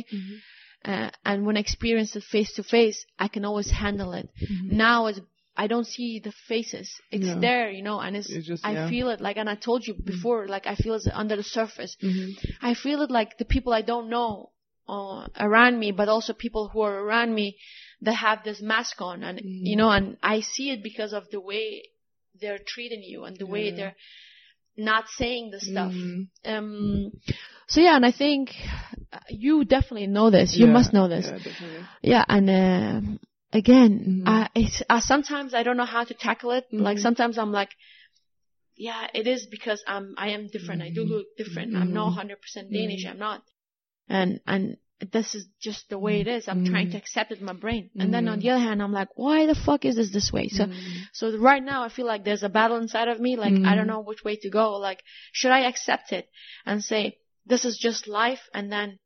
And when I experience it face to face, I can always handle it. Now I don't see the faces. It's there, you know, and it's just, I feel it like, and I told you before, like I feel it's under the surface. I feel it like the people I don't know around me, but also people who are around me that have this mask on, and you know, and I see it because of the way they're treating you and the way they're not saying the stuff. So yeah, and I think you definitely know this. You must know this. Yeah, definitely. Yeah, and again, sometimes I don't know how to tackle it. Like sometimes I'm like, yeah, it is because I am different. I do look different. I'm not 100% Danish. I'm not. And this is just the way it is. I'm trying to accept it in my brain. And then on the other hand, I'm like, why the fuck is this way? So right now I feel like there's a battle inside of me. Like, I don't know which way to go. Like, should I accept it and say, this is just life, and then,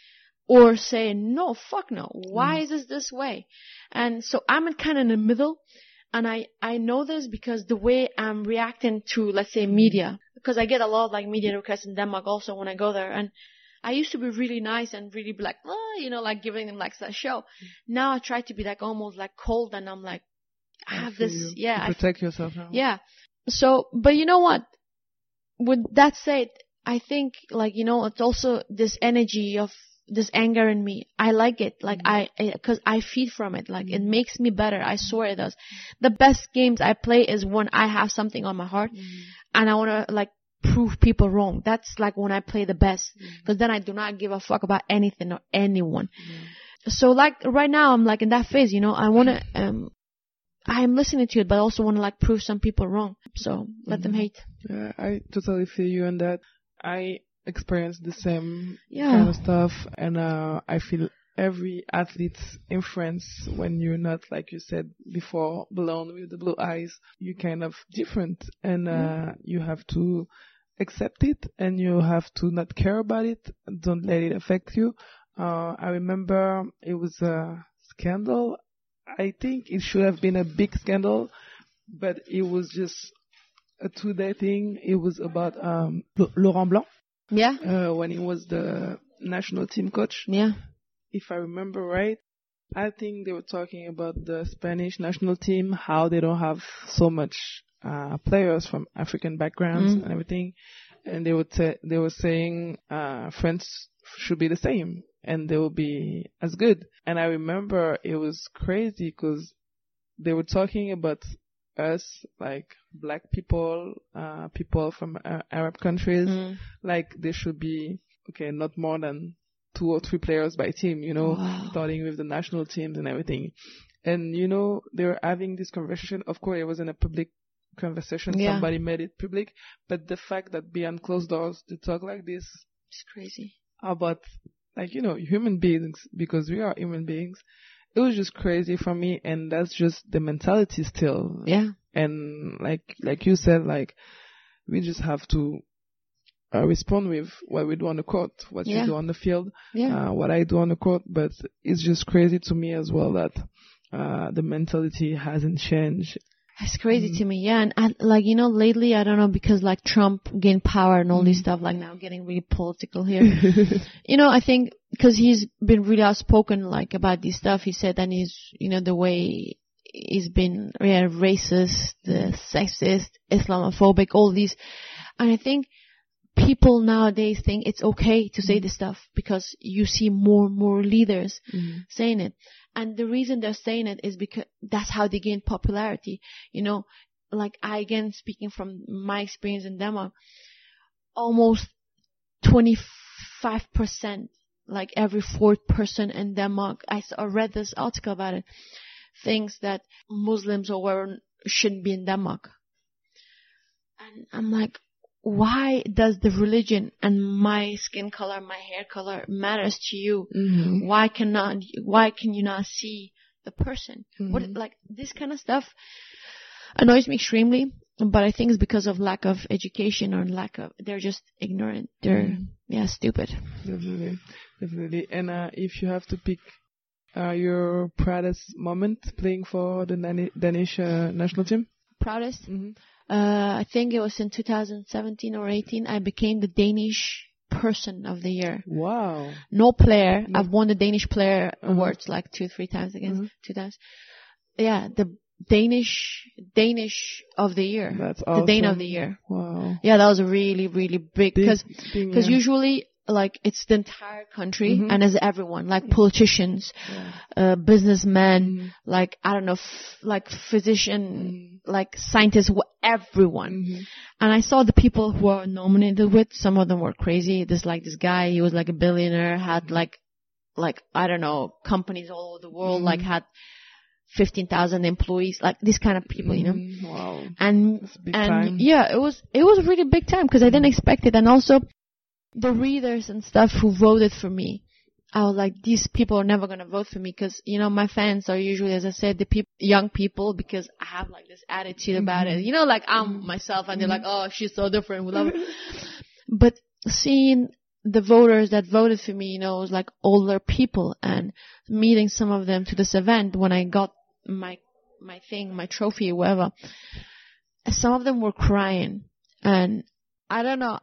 or say, no, fuck no. Why is this way? And so I'm kind of in the middle. And I know this because the way I'm reacting to, let's say, media, because I get a lot of like media requests in Denmark also when I go there. And I used to be really nice and really be like, you know, like giving them like that show. Now I try to be like almost like cold, and I'm like, I have this, to protect yourself now. Yeah. So, but you know what? With that said, I think like, you know, it's also this energy of this anger in me. I like it. Like cause I feed from it. Like it makes me better. I swear it does. The best games I play is when I have something on my heart and I want to like prove people wrong. That's like when I play the best, because then I do not give a fuck about anything or anyone. So like right now I'm like in that phase, you know, I want to, I'm listening to it, but I also want to like prove some people wrong. So let them hate. Yeah, I totally feel you on that. I experienced the same kind of stuff, and I feel every athlete's in France, when you're not, like you said before, blonde with the blue eyes, you're kind of different, and you have to accept it, and you have to not care about it. Don't let it affect you. I remember it was a scandal. I think it should have been a big scandal, but it was just a 2-day thing. It was about Laurent Blanc. Yeah. When he was the national team coach. Yeah. If I remember right, I think they were talking about the Spanish national team, how they don't have so much players from African backgrounds and everything. And they were saying France should be the same and they will be as good. And I remember it was crazy because they were talking about us, like black people, people from Arab countries, like there should be, not more than 2 or 3 players by team, starting with the national teams and everything. And, they were having this conversation. Of course, it wasn't a public conversation. Yeah. Somebody made it public. But the fact that behind closed doors, they talk like this. It's crazy. About, human beings, because we are human beings. It was just crazy for me. And that's just the mentality still. Yeah. And like you said, we just have to respond with what we do on the court, what you do on the field, what I do on the court. But it's just crazy to me as well that the mentality hasn't changed. It's crazy to me, yeah. And lately, I don't know, because Trump gained power and all this stuff, now getting really political here. I think because he's been really outspoken, about this stuff. He said, and he's, the way he's been racist, sexist, Islamophobic, all these. And I think people nowadays think it's okay to say this stuff because you see more and more leaders saying it. And the reason they're saying it is because that's how they gain popularity. Again, speaking from my experience in Denmark, almost 25%, every 4th person in Denmark, I read this article about it, thinks that Muslims or whatever shouldn't be in Denmark. And I'm like, why does the religion and my skin color, my hair color matters to you? Mm-hmm. Why can you not see the person? Mm-hmm. This kind of stuff annoys me extremely, but I think it's because of lack of education or they're just ignorant. They're, stupid. Definitely. And, if you have to pick, your proudest moment playing for the Danish national team? Proudest? Mm-hmm. I think it was in 2017 or 18. I became the Danish Person of the Year. Wow. No player. I've won the Danish Player Awards 2-3 times against 2 times. Yeah, the Danish of the Year. That's awesome. The Dane of the Year. Wow. Yeah, that was really, really big because usually it's the entire country and as everyone, politicians, businessmen, I don't know, physician, scientists, everyone. And I saw the people who are nominated with, some of them were crazy. This guy, he was a billionaire, had I don't know, companies all over the world, had 15,000 employees, these kind of people, Wow. And time. Yeah, it was a really big time because I didn't expect it. And also, the readers and stuff who voted for me, I was like, these people are never going to vote for me because, my fans are usually, as I said, the young people because I have this attitude about it. I'm myself and they're like, oh, she's so different. We love her. But seeing the voters that voted for me, it was older people and meeting some of them to this event when I got my trophy or whatever, some of them were crying. And I don't know,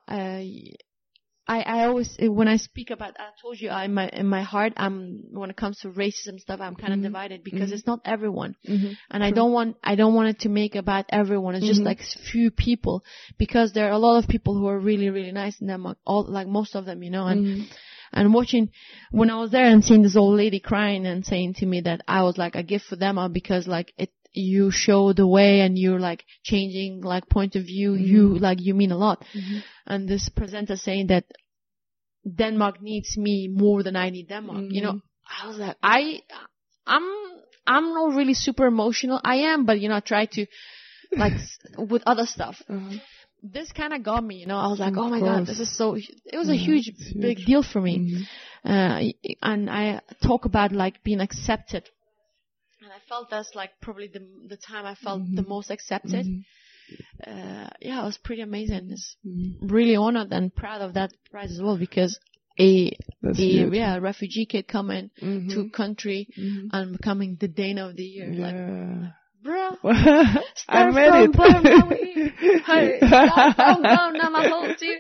I always, when I speak about, I told you, in my heart, when it comes to racism stuff, I'm kind of divided because it's not everyone. And I don't want it to make about everyone. It's just few people because there are a lot of people who are really, really nice in Denmark, most of them, and watching, when I was there and seeing this old lady crying and saying to me that I was a gift for them because you show the way and you're changing point of view. You mean a lot. And this presenter saying that Denmark needs me more than I need Denmark. I was like, I'm not really super emotional. I am, but I try to with other stuff. This kind of got me, I was like, oh my God, this is so, it was a huge, big deal for me. And I talk about being accepted. And I felt that's probably the time I felt the most accepted. It was pretty amazing. It's really honored and proud of that prize as well because a refugee kid coming to country and becoming the Dane of the Year. Yeah. Bruh, I made it. Hey, down my whole team.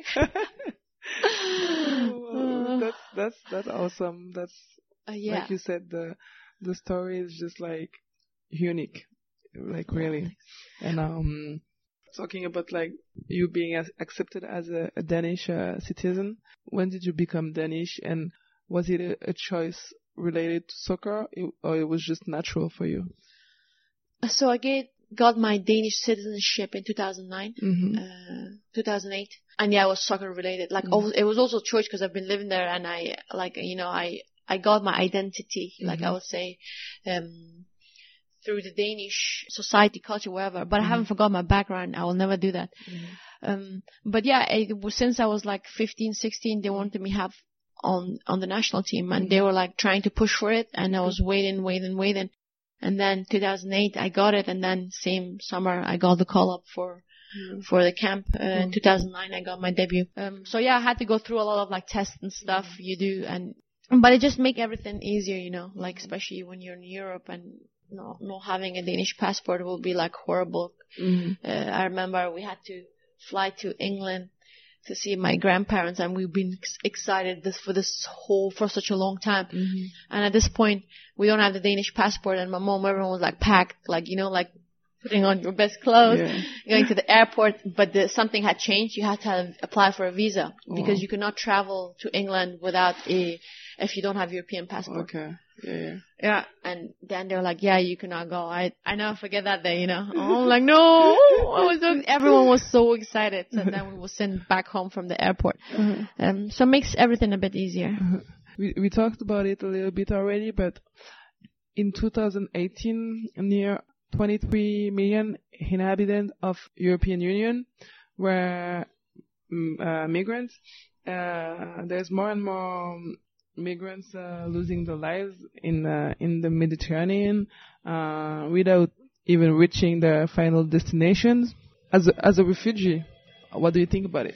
That's awesome. That's like you said, the story is just unique, really. And talking about you being accepted as a Danish citizen, when did you become Danish, and was it a choice related to soccer, or it was just natural for you? So I got my Danish citizenship in 2009, 2008. And yeah, it was soccer related. Like, it was also choice because I've been living there and I got my identity, like I would say, through the Danish society, culture, whatever. But I haven't forgotten my background. I will never do that. But yeah, since I was like 15, 16, they wanted me have on the national team and they were like trying to push for it. And I was waiting. And then 2008, I got it. And then same summer, I got the call up for the camp. In 2009, I got my debut. So yeah, I had to go through a lot of like tests and stuff you do. But it just make everything easier, you know, like especially when you're in Europe and not having a Danish passport will be like horrible. I remember we had to fly to England to see my grandparents and we've been excited for such a long time. And at this point, we don't have the Danish passport and my mom, everyone was like packed, like, you know, like putting on your best clothes, going to the airport, but something had changed. You had to apply for a visa because you could not travel to England if you don't have European passport. Okay. Yeah. And then they were like, yeah, you cannot go. I never forget that day, you know. I'm like, no. Everyone was so excited. So then we were sent back home from the airport. So it makes everything a bit easier. We talked about it a little bit already, but in 2018, near 23 million inhabitants of European Union were migrants. There's more and more migrants losing their lives in the Mediterranean without even reaching their final destinations. As a refugee, what do you think about it?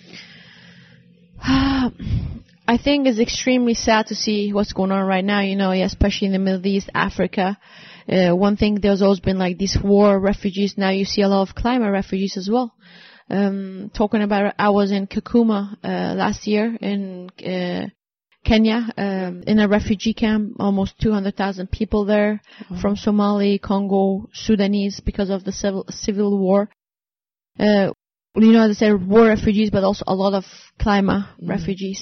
I think it's extremely sad to see what's going on right now, you know, especially in the Middle East, Africa. One thing, there's always been like these war refugees. Now you see a lot of climate refugees as well. Talking about, I was in Kakuma last year in Kenya, in a refugee camp, almost 200,000 people there from Somali, Congo, Sudanese because of the civil war. You know, as I said, war refugees, but also a lot of climate refugees.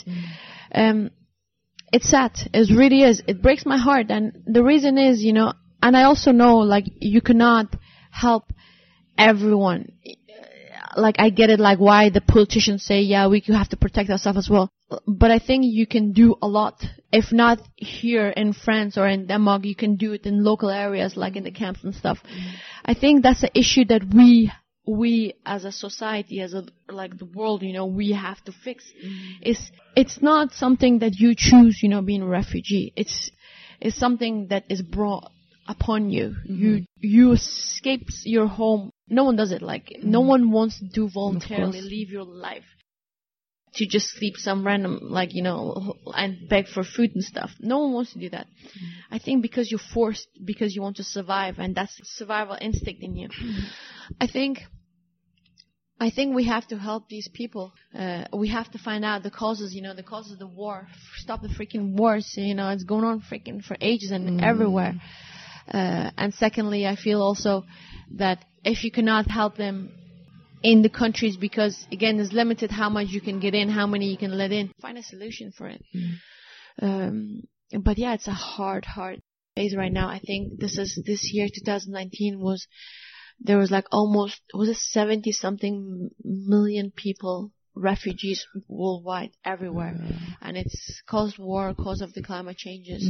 It's sad. It really is. It breaks my heart. And the reason is, you know, and I also know, like, you cannot help everyone. Like, I get it, like, why the politicians say, yeah, we have to protect ourselves as well. But I think you can do a lot. If not here in France or in Denmark, you can do it in local areas, like in the camps and stuff. I think that's an issue that we as a society, like the world, you know, we have to fix. It's not something that you choose, you know, being a refugee. It's something that is brought upon you. You escape your home. No one does it. Like, no one wants to voluntarily leave your life to just sleep some random, like, you know, and beg for food and stuff. No one wants to do that. I think because you're forced, because you want to survive, and that's survival instinct in you. I think we have to help these people. We have to find out the causes, you know, the causes of the war. Stop the freaking wars. You know, it's going on freaking for ages and everywhere. And secondly, I feel also that if you cannot help them in the countries, because again, it's limited how much you can get in, how many you can let in, find a solution for it. But yeah, it's a hard phase right now. I think this year, 2019 there was like almost, 70 something million people, refugees worldwide, everywhere. And it's caused war, cause of the climate changes.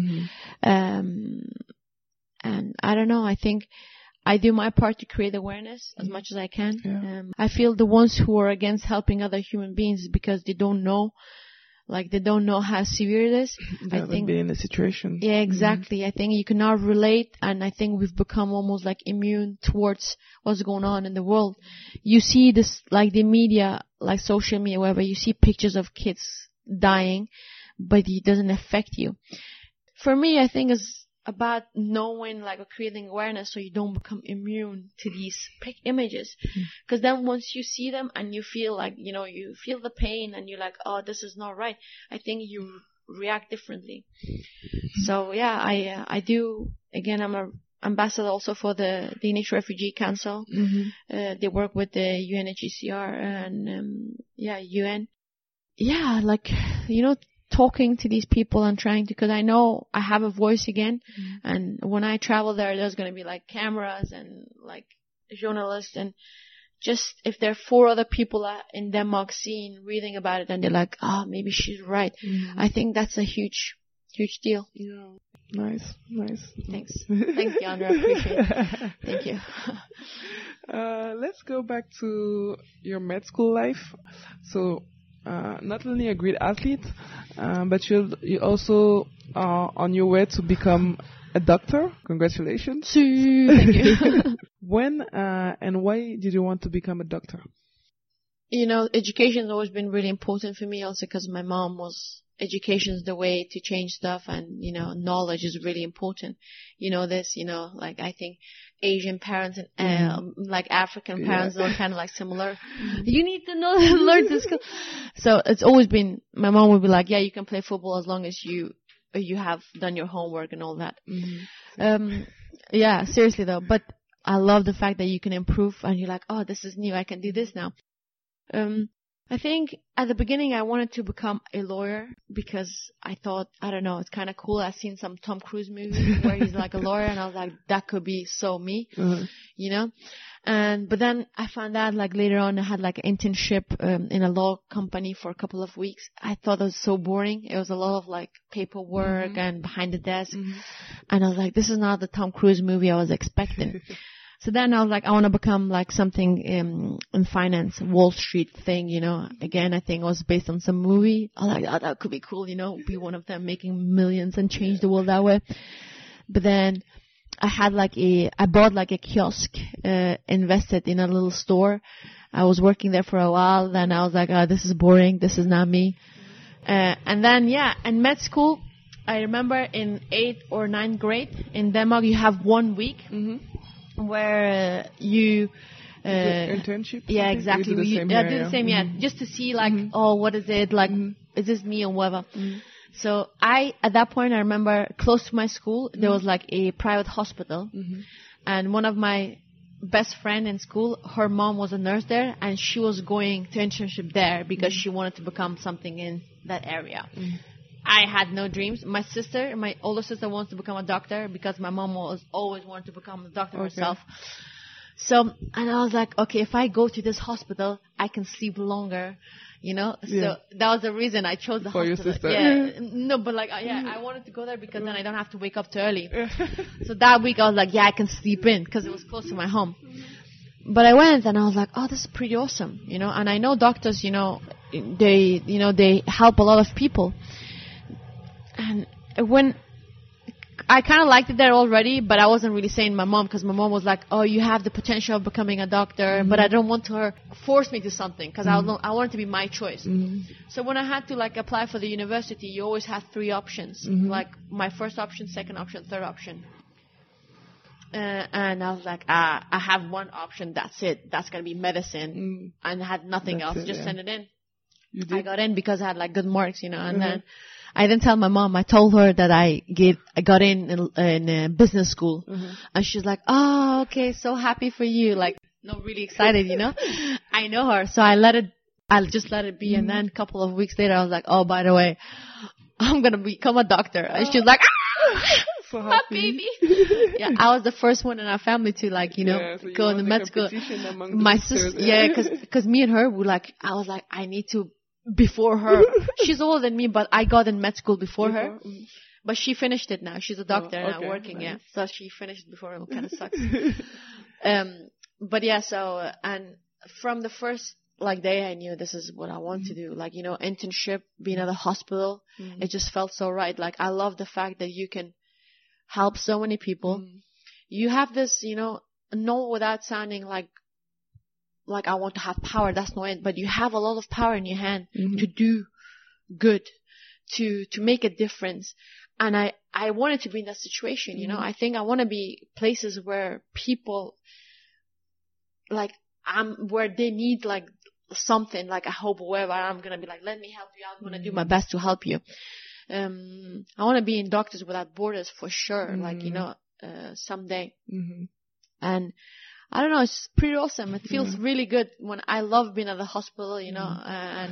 And I don't know, I think I do my part to create awareness as much as I can. I feel the ones who are against helping other human beings because they don't know how severe it is. They haven't been in the situation. Yeah, exactly. I think you cannot relate, and I think we've become almost like immune towards what's going on in the world. You see this, like the media, like social media, wherever you see pictures of kids dying, but it doesn't affect you. For me, I think it's about knowing, like, or creating awareness so you don't become immune to these images. Because then once you see them and you feel like, you know, you feel the pain and you're like, oh, this is not right, I think you react differently. So yeah, I do. Again, I'm an ambassador also for the Danish Refugee Council. They work with the UNHCR and UN. Yeah, like, you know, talking to these people and trying to, because I know I have a voice again. And when I travel there's going to be like cameras and like journalists, and just if there are 4 other people in Denmark reading about it, and they're like, maybe she's right. I think that's a huge deal. Yeah. Nice. Thanks, Deandra. I appreciate it. Thank you. Let's go back to your med school life. So, not only a great athlete, but you also are on your way to become a doctor. Congratulations. Thank you. When and why did you want to become a doctor? Education has always been really important for me, also because my mom was, education is the way to change stuff, and, knowledge is really important. Like I think Asian parents and like African parents are kind of like similar. You need to learn this. So it's always been, my mom would be like, yeah, you can play football as long as you have done your homework and all that. Yeah, seriously though. But I love the fact that you can improve and you're like, oh, this is new. I can do this now. I think at the beginning I wanted to become a lawyer because I thought, I don't know, it's kind of cool. I've seen some Tom Cruise movies where he's like a lawyer, and I was like, that could be so me, but then I found out like later on I had like an internship in a law company for a couple of weeks. I thought it was so boring. It was a lot of like paperwork and behind the desk. And I was like, this is not the Tom Cruise movie I was expecting. So then I was like, I want to become like something in finance, Wall Street thing, Again, I think it was based on some movie. I was like, oh, that could be cool, be one of them making millions and change the world that way. But then I bought like a kiosk, invested in a little store. I was working there for a while. Then I was like, oh, this is boring. This is not me. And then, in med school, I remember in 8th or 9th grade in Denmark, you have 1 week. Where you internship? Yeah, exactly. Do the same, just to see like, oh, what is it like? Is this me or whatever? So at that point, I remember close to my school there was like a private hospital, and one of my best friend in school, her mom was a nurse there, and she was going to internship there because she wanted to become something in that area. I had no dreams. My older sister wants to become a doctor because my mom always wanted to become a doctor herself. So, and I was like, okay, if I go to this hospital, I can sleep longer, So that was the reason I chose the for hospital. Your sister. Yeah. No, but like, I wanted to go there because then I don't have to wake up too early. So that week I was like, I can sleep in because it was close to my home. But I went and I was like, oh, this is pretty awesome, And I know doctors, they help a lot of people. And when I kind of liked it there already, but I wasn't really saying to my mom because my mom was like, oh, you have the potential of becoming a doctor, but I don't want her to force me to something because I want it to be my choice. So when I had to like apply for the university, you always have 3 options, like my first option, second option, third option. And I was like, I have 1 option, that's it. That's going to be medicine. And I had nothing else. Just send it in. I got in because I had like good marks, and then I didn't tell my mom. I told her that I got in business school, and she's like, "Oh, okay, so happy for you!" Like, not really excited, I know her, so I'll just let it be. And then a couple of weeks later, I was like, "Oh, by the way, I'm gonna become a doctor," and she's like, "Ah, so my baby!" I was the first one in our family to like, so go in the med school. My sister, because me and her were like, I was like, I need to. Before her. She's older than me, but I got in med school before her. But she finished it now. She's a doctor now working, nice. So she finished it before her. It kind of sucks. But so, and from the first day I knew this is what I want to do. Like, internship, being at the hospital, it just felt so right. Like, I love the fact that you can help so many people. You have this, not without sounding like I want to have power, that's not it. But you have a lot of power in your hand to do good, to make a difference. And I wanted to be in that situation, I think I want to be places where people, where they need, something, a hope or whatever. I'm going to be like, let me help you. I'm going to do my best to help you. I want to be in Doctors Without Borders for sure, someday. And I don't know, it's pretty awesome. It feels really good when I love being at the hospital, and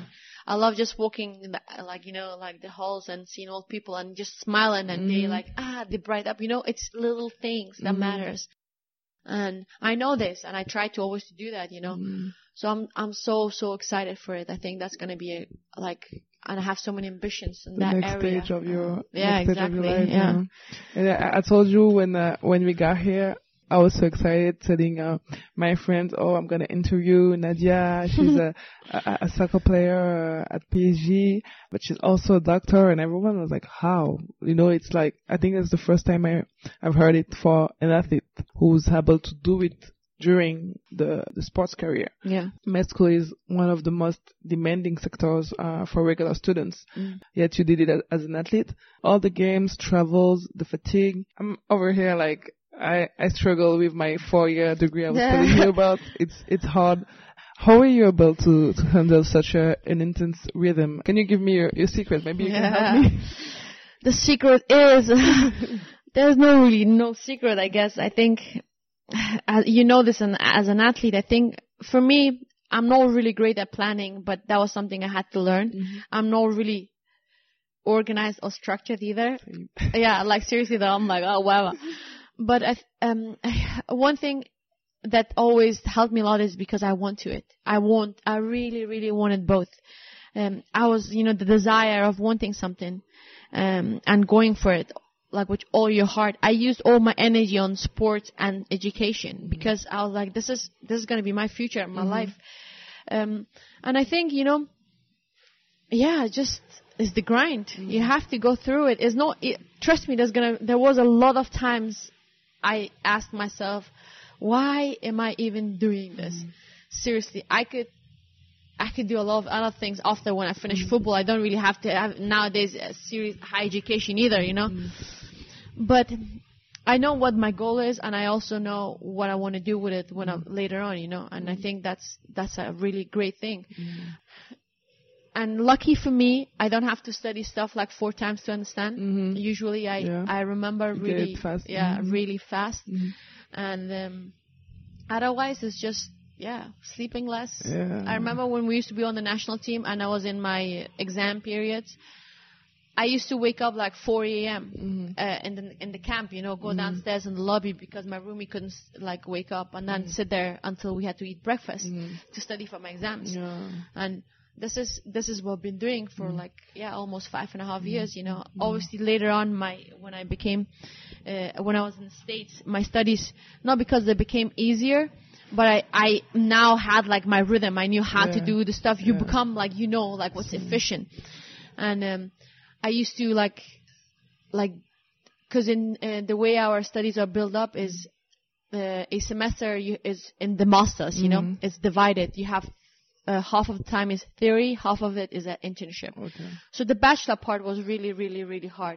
I love just walking in the, like, like the halls and seeing old people and just smiling and they bright up. It's little things that matters. And I know this, and I try to always do that, So I'm so excited for it. I think that's going to be and I have so many ambitions in that area. The next stage of your exactly. Stage of your life, yeah. And I told you when we got here, I was so excited telling my friends, I'm going to interview Nadia. She's a soccer player at PSG, but she's also a doctor, and everyone was like, how? It's like, I think it's the first time I've heard it for an athlete who's able to do it during the sports career. Yeah. Med school is one of the most demanding sectors for regular students. Yet you did it as an athlete. All the games, travels, the fatigue. I'm over here like, I struggle with my 4-year degree I was telling you about. It's hard. How are you able to handle such an intense rhythm? Can you give me your secret? Maybe you can help me. The secret is there's no secret, I guess. I think this, and as an athlete, I think for me, I'm not really great at planning, but that was something I had to learn. I'm not really organized or structured either. Yeah, like seriously though, I'm like, oh wow. But one thing that always helped me a lot is because I want to it. I really, really wanted both. I was, the desire of wanting something, and going for it, like with all your heart. I used all my energy on sports and education because I was like, this is going to be my future, my life. And I think, just is the grind. You have to go through it. Trust me, there was a lot of times I asked myself, why am I even doing this? Seriously, I could do a lot of other things after when I finish football. I don't really have to have nowadays a serious high education either, But I know what my goal is, and I also know what I want to do with it when I'm later on, And I think that's a really great thing. And lucky for me, I don't have to study stuff like 4 times to understand. Usually I remember really fast. Really fast. And otherwise it's just sleeping less. I remember when we used to be on the national team and I was in my exam periods, I used to wake up like 4 a.m. In the camp, go downstairs in the lobby because my roomie couldn't wake up, and then sit there until we had to eat breakfast to study for my exams. And this is what I've been doing for almost 5.5 years. Obviously later on when I was in the States, my studies, not because they became easier, but I now had my rhythm. I knew how to do the stuff. You become what's efficient. And I used to because in the way our studies are built up is a semester is in the masters. It's divided. You have half of the time is theory, half of it is an internship. Okay. So the bachelor part was really, really, really hard.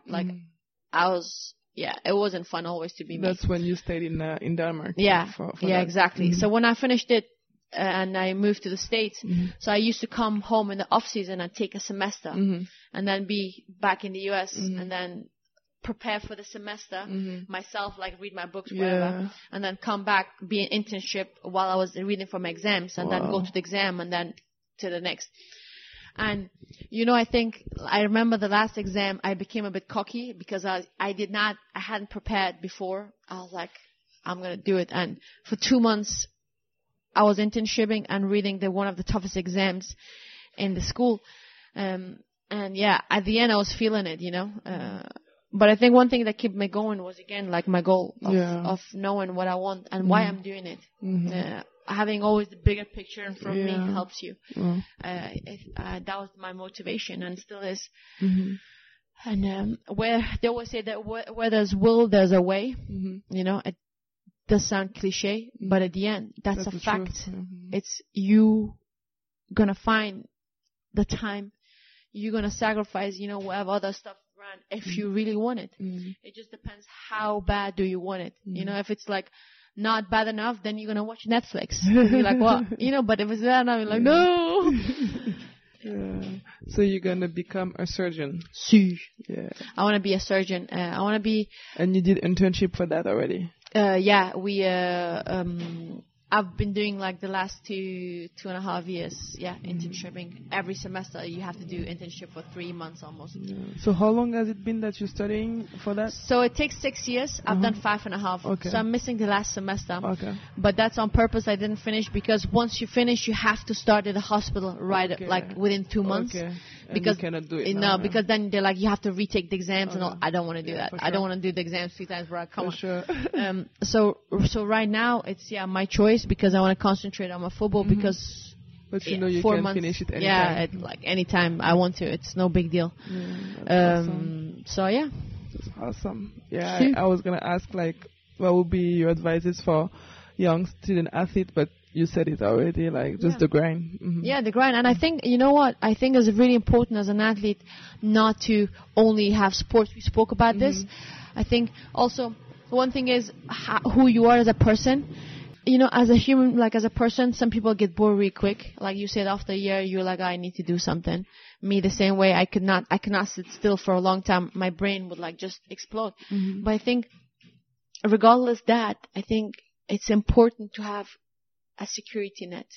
It wasn't fun always to be me. That's when you stayed in Denmark. Yeah, for exactly. So when I finished it and I moved to the States, so I used to come home in the off season and take a semester and then be back in the US and then prepare for the semester myself, read my books, whatever, and then come back, be an internship while I was reading for my exams, and then go to the exam and then to the next. And I remember the last exam I became a bit cocky because I hadn't prepared before. I was like, I'm gonna do it. And for 2 months I was internshipping and reading one of the toughest exams in the school. At the end I was feeling it, But I think one thing that kept me going was, again, my goal of knowing what I want and why I'm doing it. Having always the bigger picture in front of me helps you. That was my motivation and still is. And where they always say that where there's will, there's a way. It does sound cliche, but at the end, that's a fact. It's you gonna find the time. You're gonna sacrifice, whatever other stuff around if you really want it. It just depends how bad do you want it. If it's not bad enough, then you're gonna watch Netflix. You're like, what? But if it's bad enough, you're like, no. So you're gonna become a surgeon? Si. Yeah. I want to be a surgeon. I want to be. And you did internship for that already? We I've been doing like the last 2.5 years, internshipping. Every semester you have to do internship for 3 months almost. Yeah. So how long has it been that you're studying for that? So it takes 6 years. I've done 5.5. Okay. So I'm missing the last semester. Okay. But that's on purpose. I didn't finish because once you finish, you have to start at the hospital like within 2 months. Okay. And Because you cannot do it no, now, because then they're like you have to retake the exams and all. I don't want to do that. for I don't sure. want to do the exams 3 times, bro. Come For on. sure. So right now it's my choice because I want to concentrate on my football because But you know you 4 can months, finish it anytime. Yeah, like anytime I want to. It's no big deal. That's awesome. So yeah. That's awesome. Yeah, Sure. I was gonna ask like, what would be your advices for young student athletes? But you said it already, like just the grind. Mhm. Yeah, the grind. And I think, you know what? I think it's really important as an athlete not to only have sports. We spoke about this. I think also one thing is who you are as a person. You know, as a human, like as a person, some people get bored really quick. Like you said, after a year, you're like, I need to do something. Me, the same way. I cannot sit still for a long time. My brain would like just explode. But I think regardless that, I think it's important to have a security net.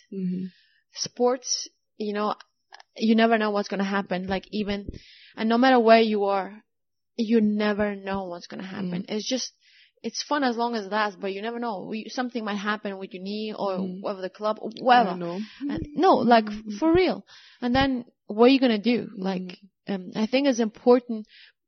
Sports, you know, you never know what's going to happen. Like and no matter where you are, you never know what's going to happen. It's fun as long as it lasts, but you never know. Something might happen with your knee or whatever the club, or whatever. I know. No, like for real. And then what are you going to do? Like, I think it's important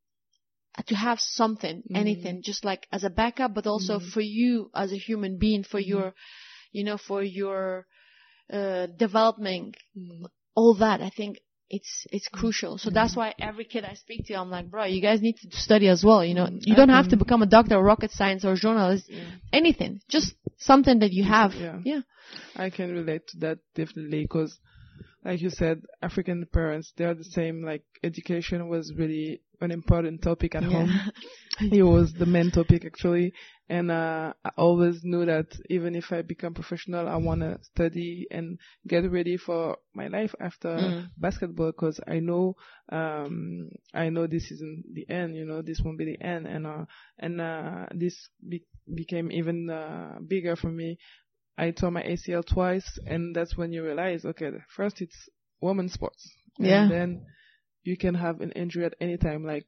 to have something, anything, just like as a backup, but also for you as a human being, for your, you know, for your development, all that. I think it's crucial. So that's why every kid I speak to, I'm like, bro, you guys need to study as well. You know, you don't have to become a doctor or rocket science or journalist, anything, just something that you have. Yeah. I can relate to that definitely because, like you said, African parents, they're the same. Like education was really an important topic at home. It was the main topic actually. And I always knew that even if I become professional, I want to study and get ready for my life after basketball because I know this isn't the end, you know, this won't be the end. And this became even bigger for me. I tore my ACL twice, and that's when you realize, okay, first it's women's sports. Yeah. And then you can have an injury at any time, like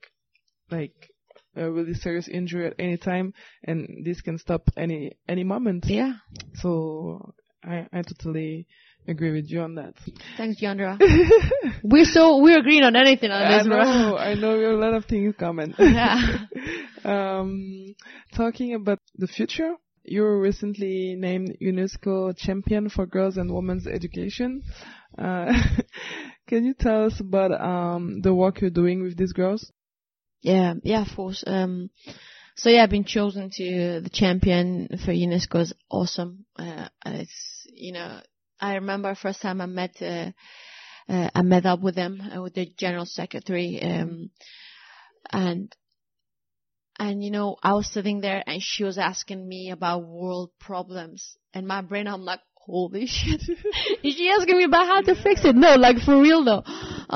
a really serious injury at any time, and this can stop any moment. Yeah. So I totally agree with you on that. Thanks, Giandra. We're agreeing on anything on this, bro. I know we have a lot of things common. Yeah. Talking about the future, you were recently named UNESCO Champion for Girls and Women's Education. Can you tell us about the work you're doing with these girls? Yeah, of course. So yeah, I've been chosen to the champion for UNESCO. Is awesome. It's, you know, I remember first time I met up with them, with the general secretary, and you know, I was sitting there and she was asking me about world problems, and my brain, I'm like, holy shit. Is she asking me about how to fix it? No, like for real though.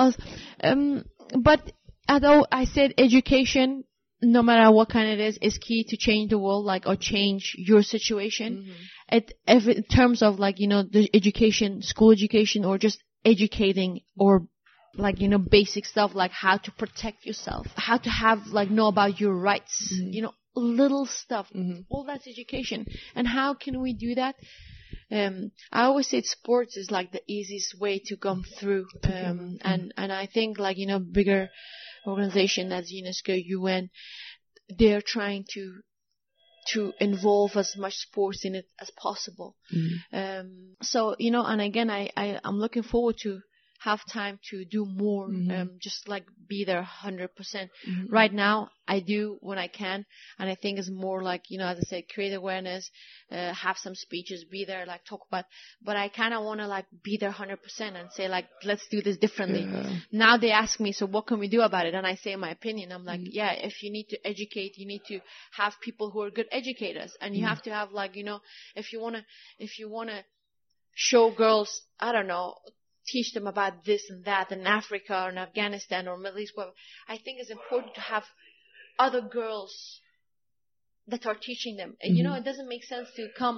But although I said education, no matter what kind it is key to change the world, like, or change your situation. In terms of like, you know, the education, school education, or just educating, or like, you know, basic stuff like how to protect yourself, how to have, like, know about your rights, you know, little stuff. All that's education. And how can we do that? I always say sports is like the easiest way to come through. And I think, like, you know, bigger organization as UNESCO, UN, they're trying to involve as much sports in it as possible. So, you know, and again, I'm looking forward to have time to do more, just like be there 100%. Right now, I do when I can, and I think it's more like, you know, as I said, create awareness, have some speeches, be there, like talk about, but I kind of want to like be there 100% and say like, let's do this differently. Now they ask me, so what can we do about it? And I say my opinion. I'm like, yeah, if you need to educate, you need to have people who are good educators, and you have to have, like, you know, if you want to show girls, I don't know, teach them about this and that in Africa or in Afghanistan or Middle East, whatever. I think it's important to have other girls that are teaching them. And, you know, it doesn't make sense to come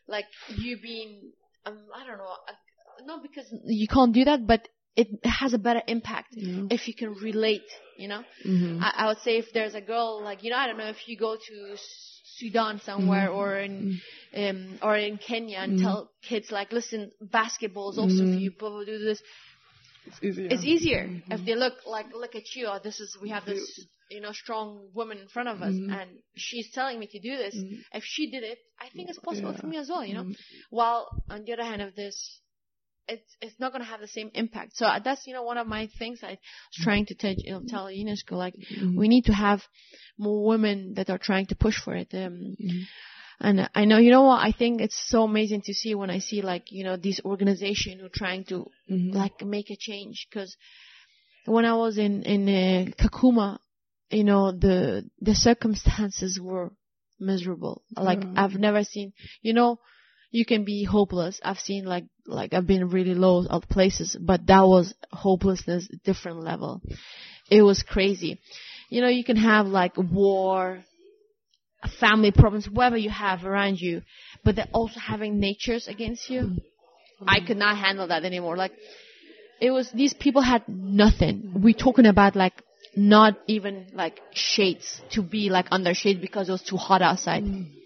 like you being, I don't know, not because you can't do that, but it has a better impact if you can relate, you know. I would say if there's a girl, like, you know, I don't know, if you go to Sudan somewhere or in Kenya and tell kids, like, listen, basketball is also for you, people do this. It's easier if they look at you, or we have this, you know, strong woman in front of us, and she's telling me to do this. If she did it, I think it's possible for me as well, you know. While on the other hand of this, it's not going to have the same impact. So that's, you know, one of my things I was trying to tell UNESCO, like, we need to have more women that are trying to push for it. And I know, you know what, I think it's so amazing to see when I see, like, you know, these organizations who are trying to, like, make a change. Because when I was in Kakuma, you know, the circumstances were miserable. Like, I've never seen, you know, you can be hopeless. I've seen, like I've been really low at places, but that was hopelessness, different level. It was crazy. You know, you can have, like, war, family problems, whatever you have around you, but they're also having natures against you. I could not handle that anymore. Like, it was, these people had nothing. We're talking about, like, not even, like, shades to be, like, under shade because it was too hot outside.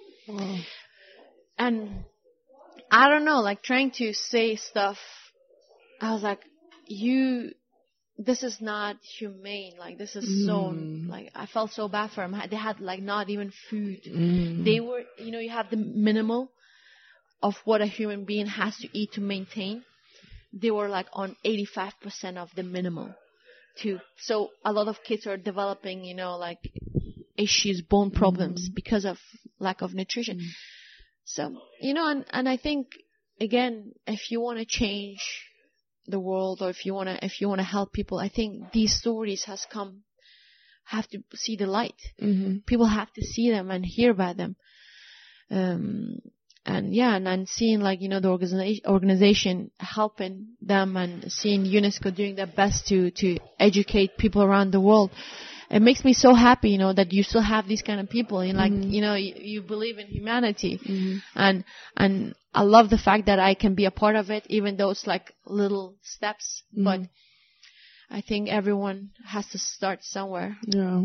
And I don't know, like, trying to say stuff, I was like, this is not humane. Like, this is so, like, I felt so bad for them. They had, like, not even food. They were, you know, you have the minimal of what a human being has to eat to maintain. They were, like, on 85% of the minimal too. So a lot of kids are developing, you know, like, issues, bone problems because of lack of nutrition. So, you know, and I think, again, if you want to change the world, or if you want to help people, I think these stories have to see the light. People have to see them and hear about them. And seeing, like, you know, the organization helping them, and seeing UNESCO doing their best to educate people around the world. It makes me so happy, you know, that you still have these kind of people, and, like, you know, you believe in humanity, and I love the fact that I can be a part of it, even though it's, like, little steps. But I think everyone has to start somewhere. Yeah.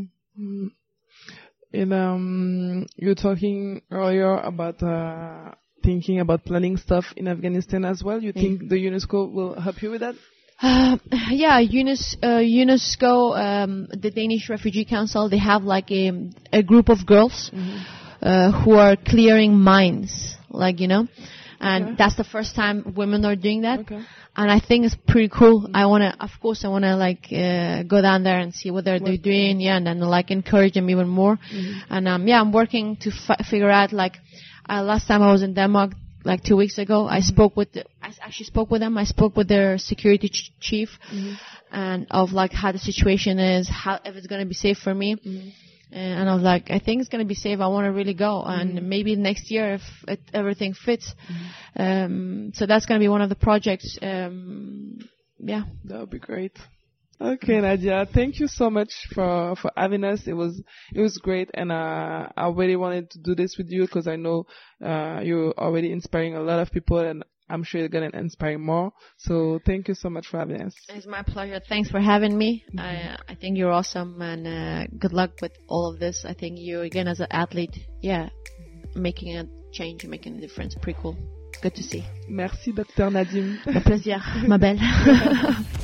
And you're talking earlier about thinking about planning stuff in Afghanistan as well. You think the UNESCO will help you with that? Yeah, UNESCO, the Danish Refugee Council, they have, like, a group of girls who are clearing mines, like, you know, and that's the first time women are doing that. And I think it's pretty cool. I want to, like, go down there and see what they're doing, and then, like, encourage them even more. And I'm working to figure out, like, last time I was in Denmark, like 2 weeks ago, I actually spoke with them. I spoke with their security chief, and of, like, how the situation is, if it's going to be safe for me. And I was like, I think it's going to be safe. I want to really go. And maybe next year, if everything fits. So that's going to be one of the projects. Yeah. That would be great. Okay, Nadia, thank you so much for having us. It was great, and I really wanted to do this with you because I know you're already inspiring a lot of people, and I'm sure you're going to inspire more. So thank you so much for having us. It's my pleasure. Thanks for having me. I think you're awesome, and good luck with all of this. I think you, again, as an athlete, making a change, making a difference. Pretty cool. Good to see. Merci, Dr. Nadim. Au plaisir, ma belle.